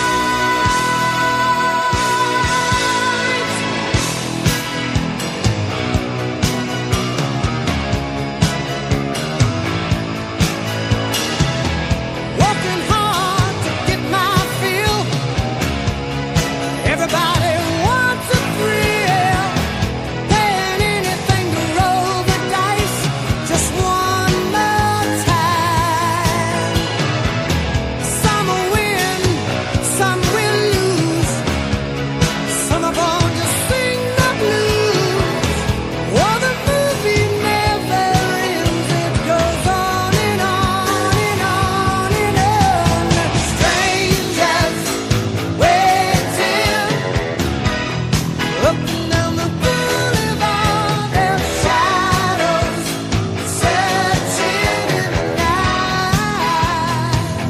night. Working hard to get my fill. Everybody wants a thrill, paying anything to roll the dice just one more time. Some will win, some will lose. Some are born to sing the blues. Oh, the movie never ends. It goes on and on and on and on. Strangers waiting up and down the boulevard. Their shadows searching in the night.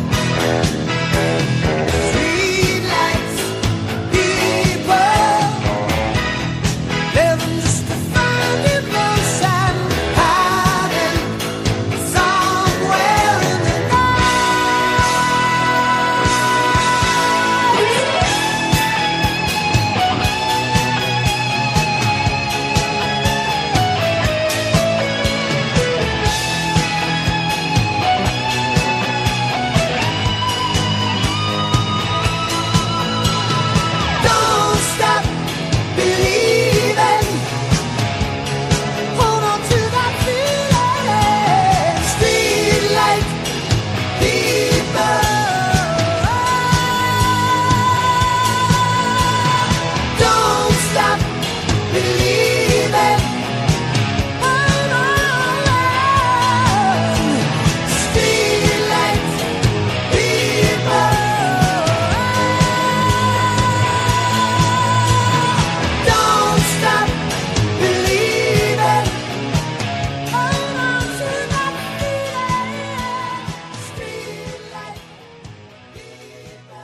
Streetlights, people living just to find emotion, hiding somewhere in the Don't stop believing. Hold on to that feeling. Streetlight people. Don't stop believing. Hold on. Streetlight people. Don't stop believing. Hold on to that feeling. Streetlight people.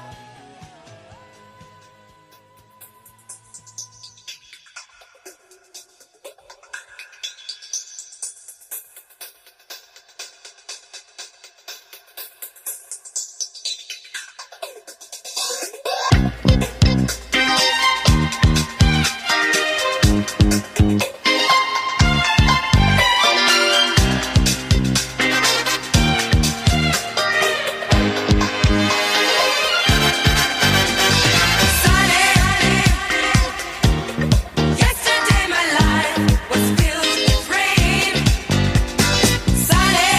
Yesterday my life was filled with rain. Sunny,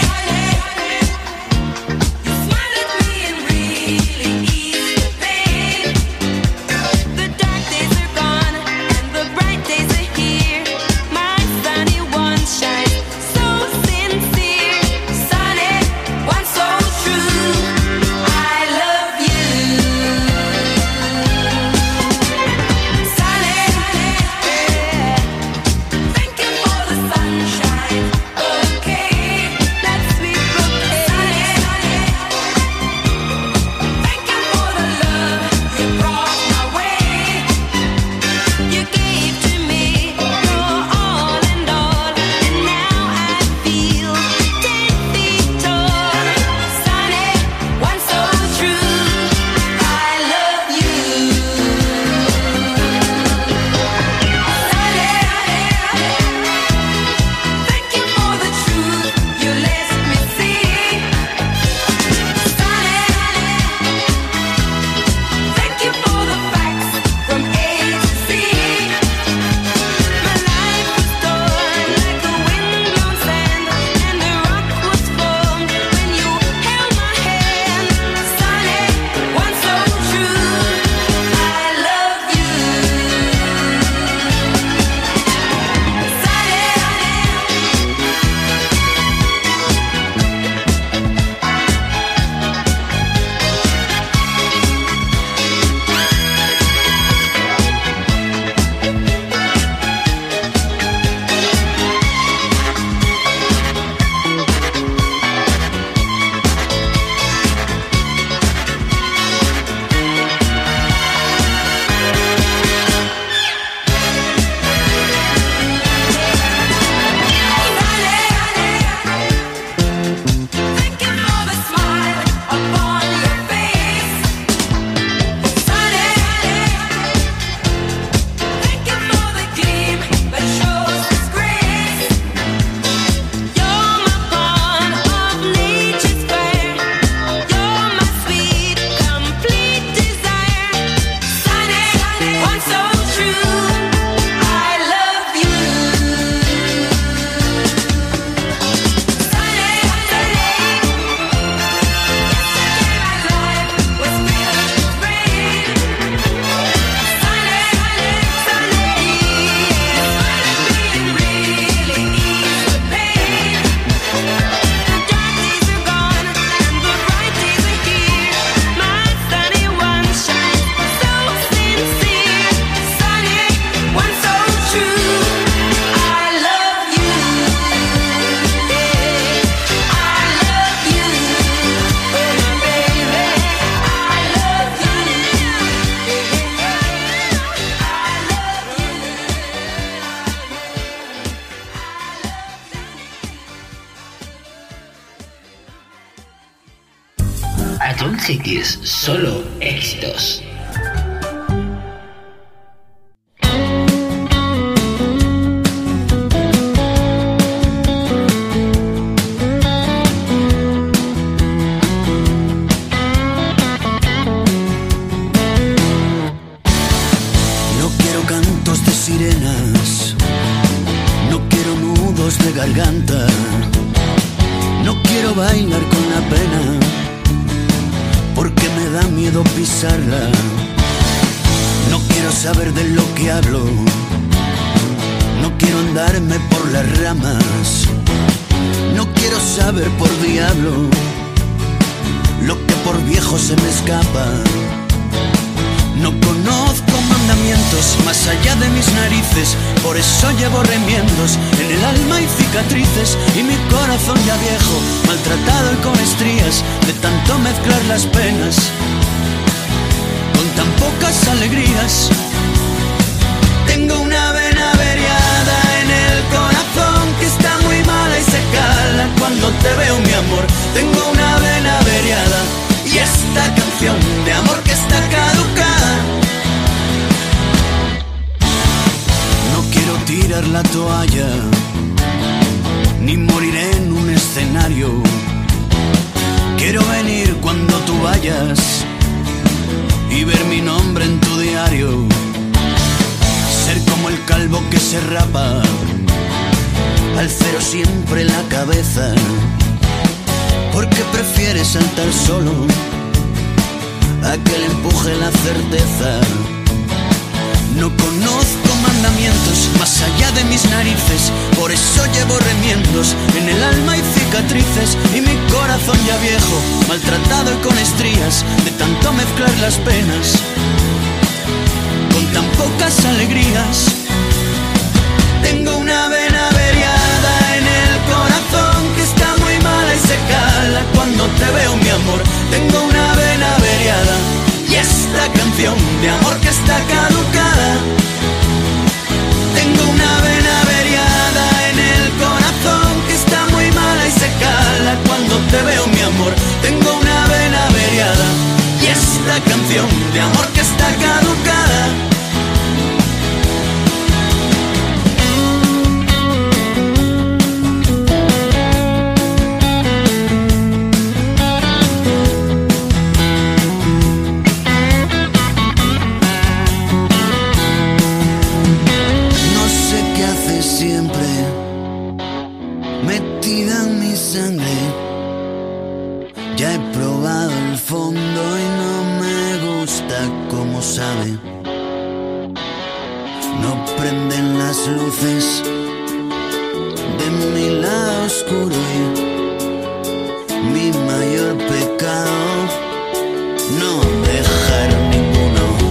you smiled at me and really eased the pain. The dark days are gone and the bright Ion Cities, solo éxitos. No quiero cantos de sirenas, no quiero nudos de garganta, no quiero bailar con la pena, porque me da miedo pisarla. No quiero saber de lo que hablo, no quiero andarme por las ramas, no quiero saber por diablo lo que por viejo se me escapa. No conozco mandamientos más allá de mis narices, por eso llevo remiendos en el alma y cicatrices, y mi corazón ya viejo, maltratado y con estrías de tanto mezclar las penas con tan pocas alegrías. Tengo una vena averiada en el corazón que está muy mala y se cala cuando te veo, mi amor. Tengo una vena averiada y esta canción de amor que está caducada. No quiero tirar la toalla, ni morir en un escenario. Quiero venir cuando tú vayas y ver mi nombre en tu diario. Ser como el calvo que se rapa, al cero siempre la cabeza, porque prefiere saltar solo a que le empuje la certeza. No conozco mandamientos más allá de mis narices, por eso llevo remiendos en el alma y cicatrices, y mi corazón ya viejo, maltratado y con estrías de tanto mezclar las penas con tan pocas alegrías. Tengo una vena averiada en el corazón que está muy mala y se cala cuando te veo, mi amor. Tengo una vena averiada y esta canción de amor que está caducada. Tengo una vena averiada en el corazón que está muy mala y se cala cuando te veo, mi amor. Tengo una vena averiada y esta canción de amor que está caducada. Siempre metida en mi sangre, ya he probado el fondo y no me gusta como sabe. No prenden las luces de mi lado oscuro y mi mayor pecado no dejar ninguno.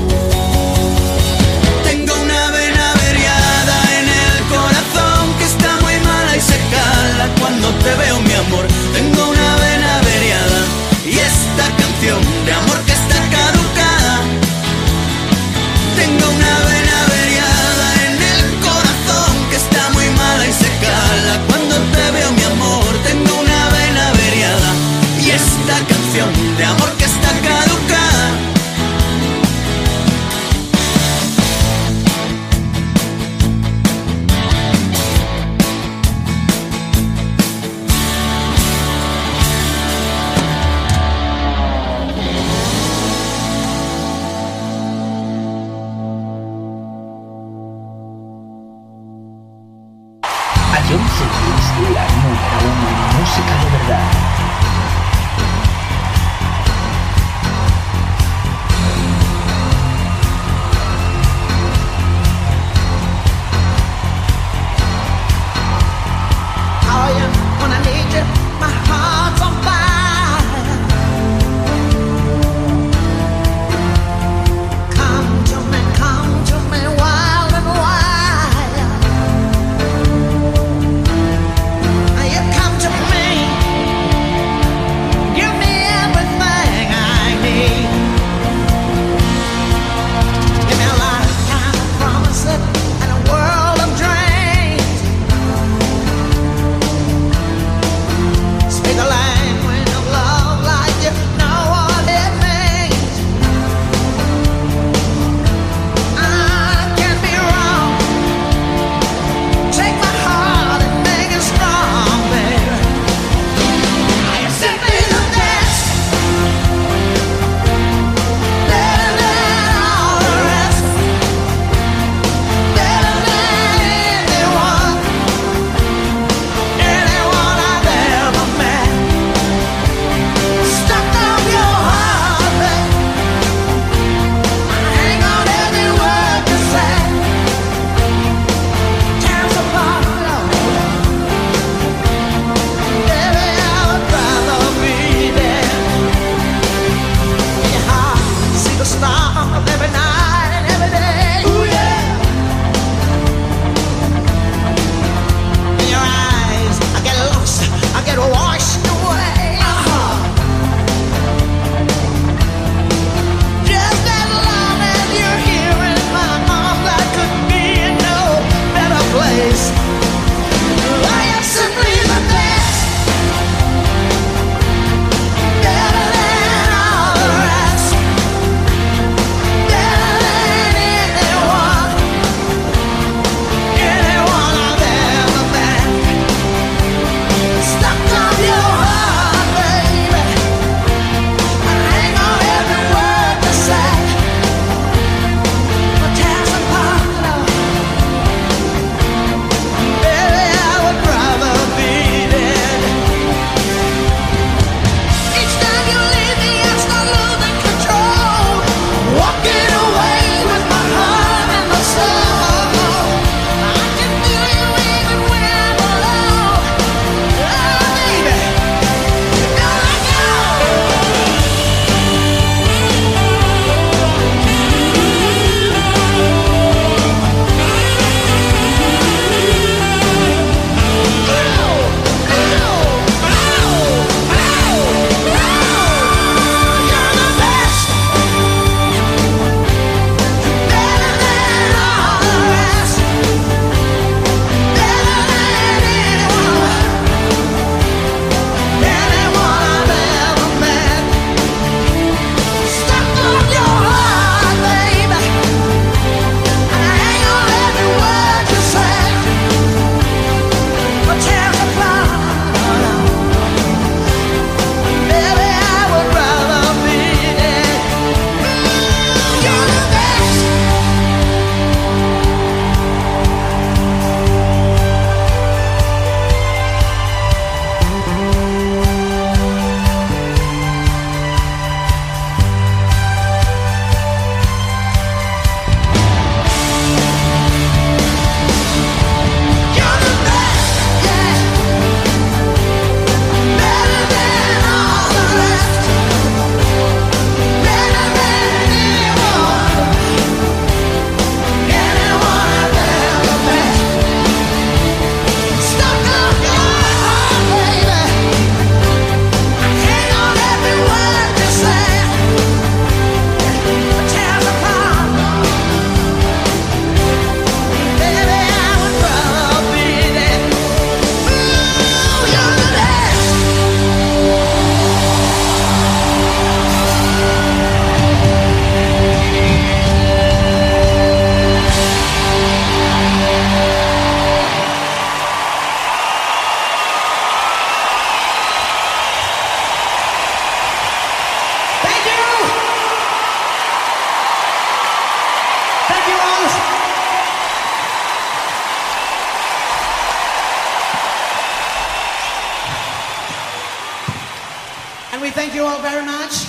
Tengo una vena averiada en el corazón que está muy mala y se cala cuando te veo, mi amor. Tengo una vena averiada y esta canción de amor que está caducada. Tengo una vena averiada en el corazón que está muy mala y se cala cuando te veo, mi amor. Tengo una vena averiada y esta canción de amor que está caducada. Ion Cities, la número uno en música de verdad. You come to me place. I am simply the best, better than all the rest, better than anyone, anyone I've ever met. Stuck on your heart, baby. I hang on every word you say. But tears apart, love. Baby, I would rather be dead. Each time you leave me, I start losing control. Walking away with my heart and my soul. I can feel you even when I'm alone. Oh, baby, don't let go. You're the best, better than all the rest, better than anyone, anyone I've ever met. Stuck on your heart, baby. I hang on every word you say. But tears apart, baby, I would rather be dead. You're the best. You're the best, yeah. Better than all the rest, better than anyone, anyone I've ever met. Stuck on your heart, baby. I hang on every word you say. But tears apart, baby, I would rather be dead. Ooh, you're the best. Thank you. Thank you all. And we thank you all very much.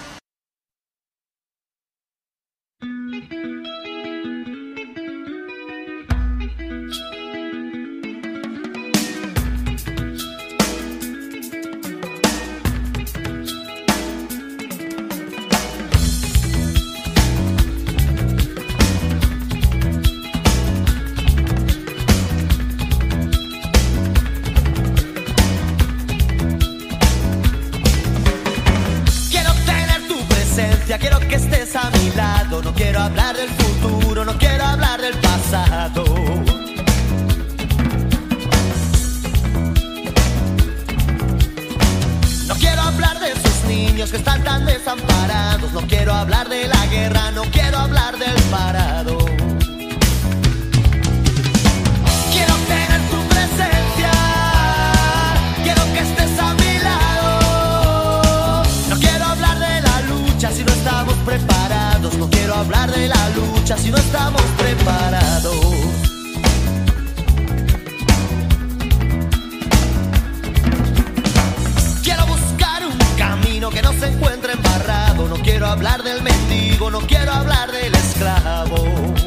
Quiero tener tu presencia, quiero que estés a mi lado. No quiero hablar del futuro, no quiero hablar del pasado. No quiero hablar de esos niños que están tan desamparados. No quiero hablar de la guerra, no quiero hablar del parado. Quiero tener tu presencia, quiero que estés a mi lado. No quiero hablar de la lucha si no estamos preparados. No quiero hablar de la lucha si no estamos preparados. Quiero buscar un camino que no se encuentre embarrado. No quiero hablar del mendigo, no quiero hablar del esclavo.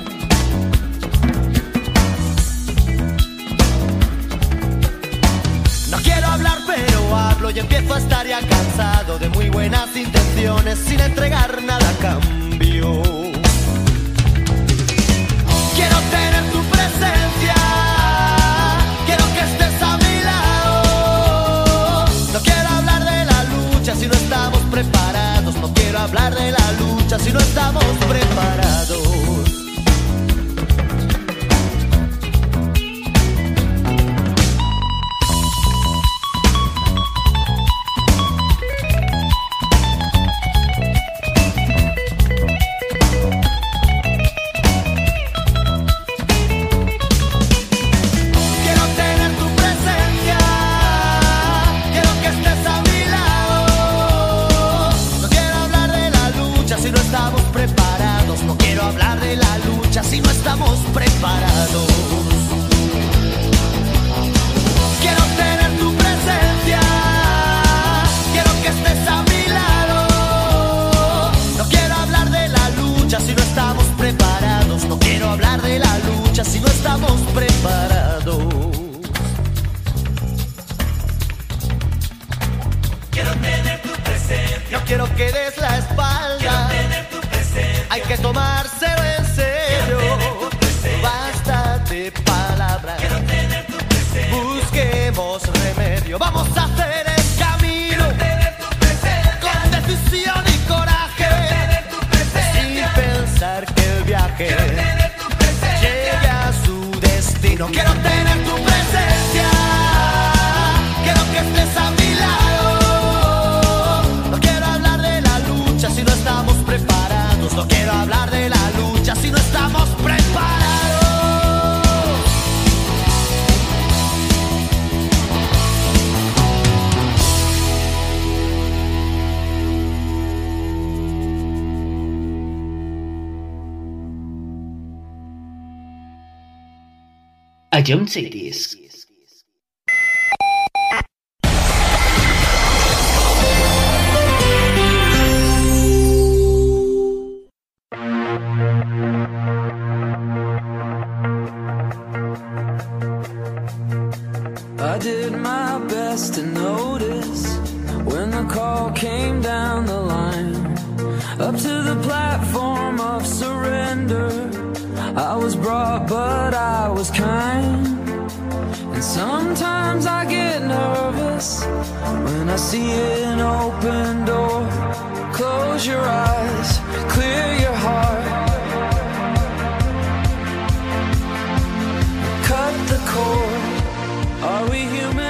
No quiero hablar pero hablo y empiezo a estar ya cansado de muy buenas intenciones sin entregar nada a cambio. Quiero tener tu presencia, quiero que estés a mi lado. No quiero hablar de la lucha si no estamos preparados. No quiero hablar de la lucha si no estamos preparados. preparados. Quiero tener tu presencia. No quiero que des la espalda. Quiero tener tu presencia. Hay que tomárselo en serio. Basta de palabras. Quiero tener tu presencia. Busquemos remedio. Vamos a hacer el camino. Quiero tener tu presencia. Con decisión y coraje. Quiero tener tu presencia. Sin pensar que el viaje Quiero tener tu presencia. llegue a su destino. Quiero tener tu presencia. Quiero que estés a mi lado. No quiero hablar de la lucha si no estamos preparados. No quiero hablar de la lucha si no estamos preparados. A John Cities. I did my best to notice when the call came down the line, up to the platform of surrender. I was brought, but I was kind. And sometimes I get nervous when I see an open door. Close your eyes, clear your heart. Cut the cord. Are we human?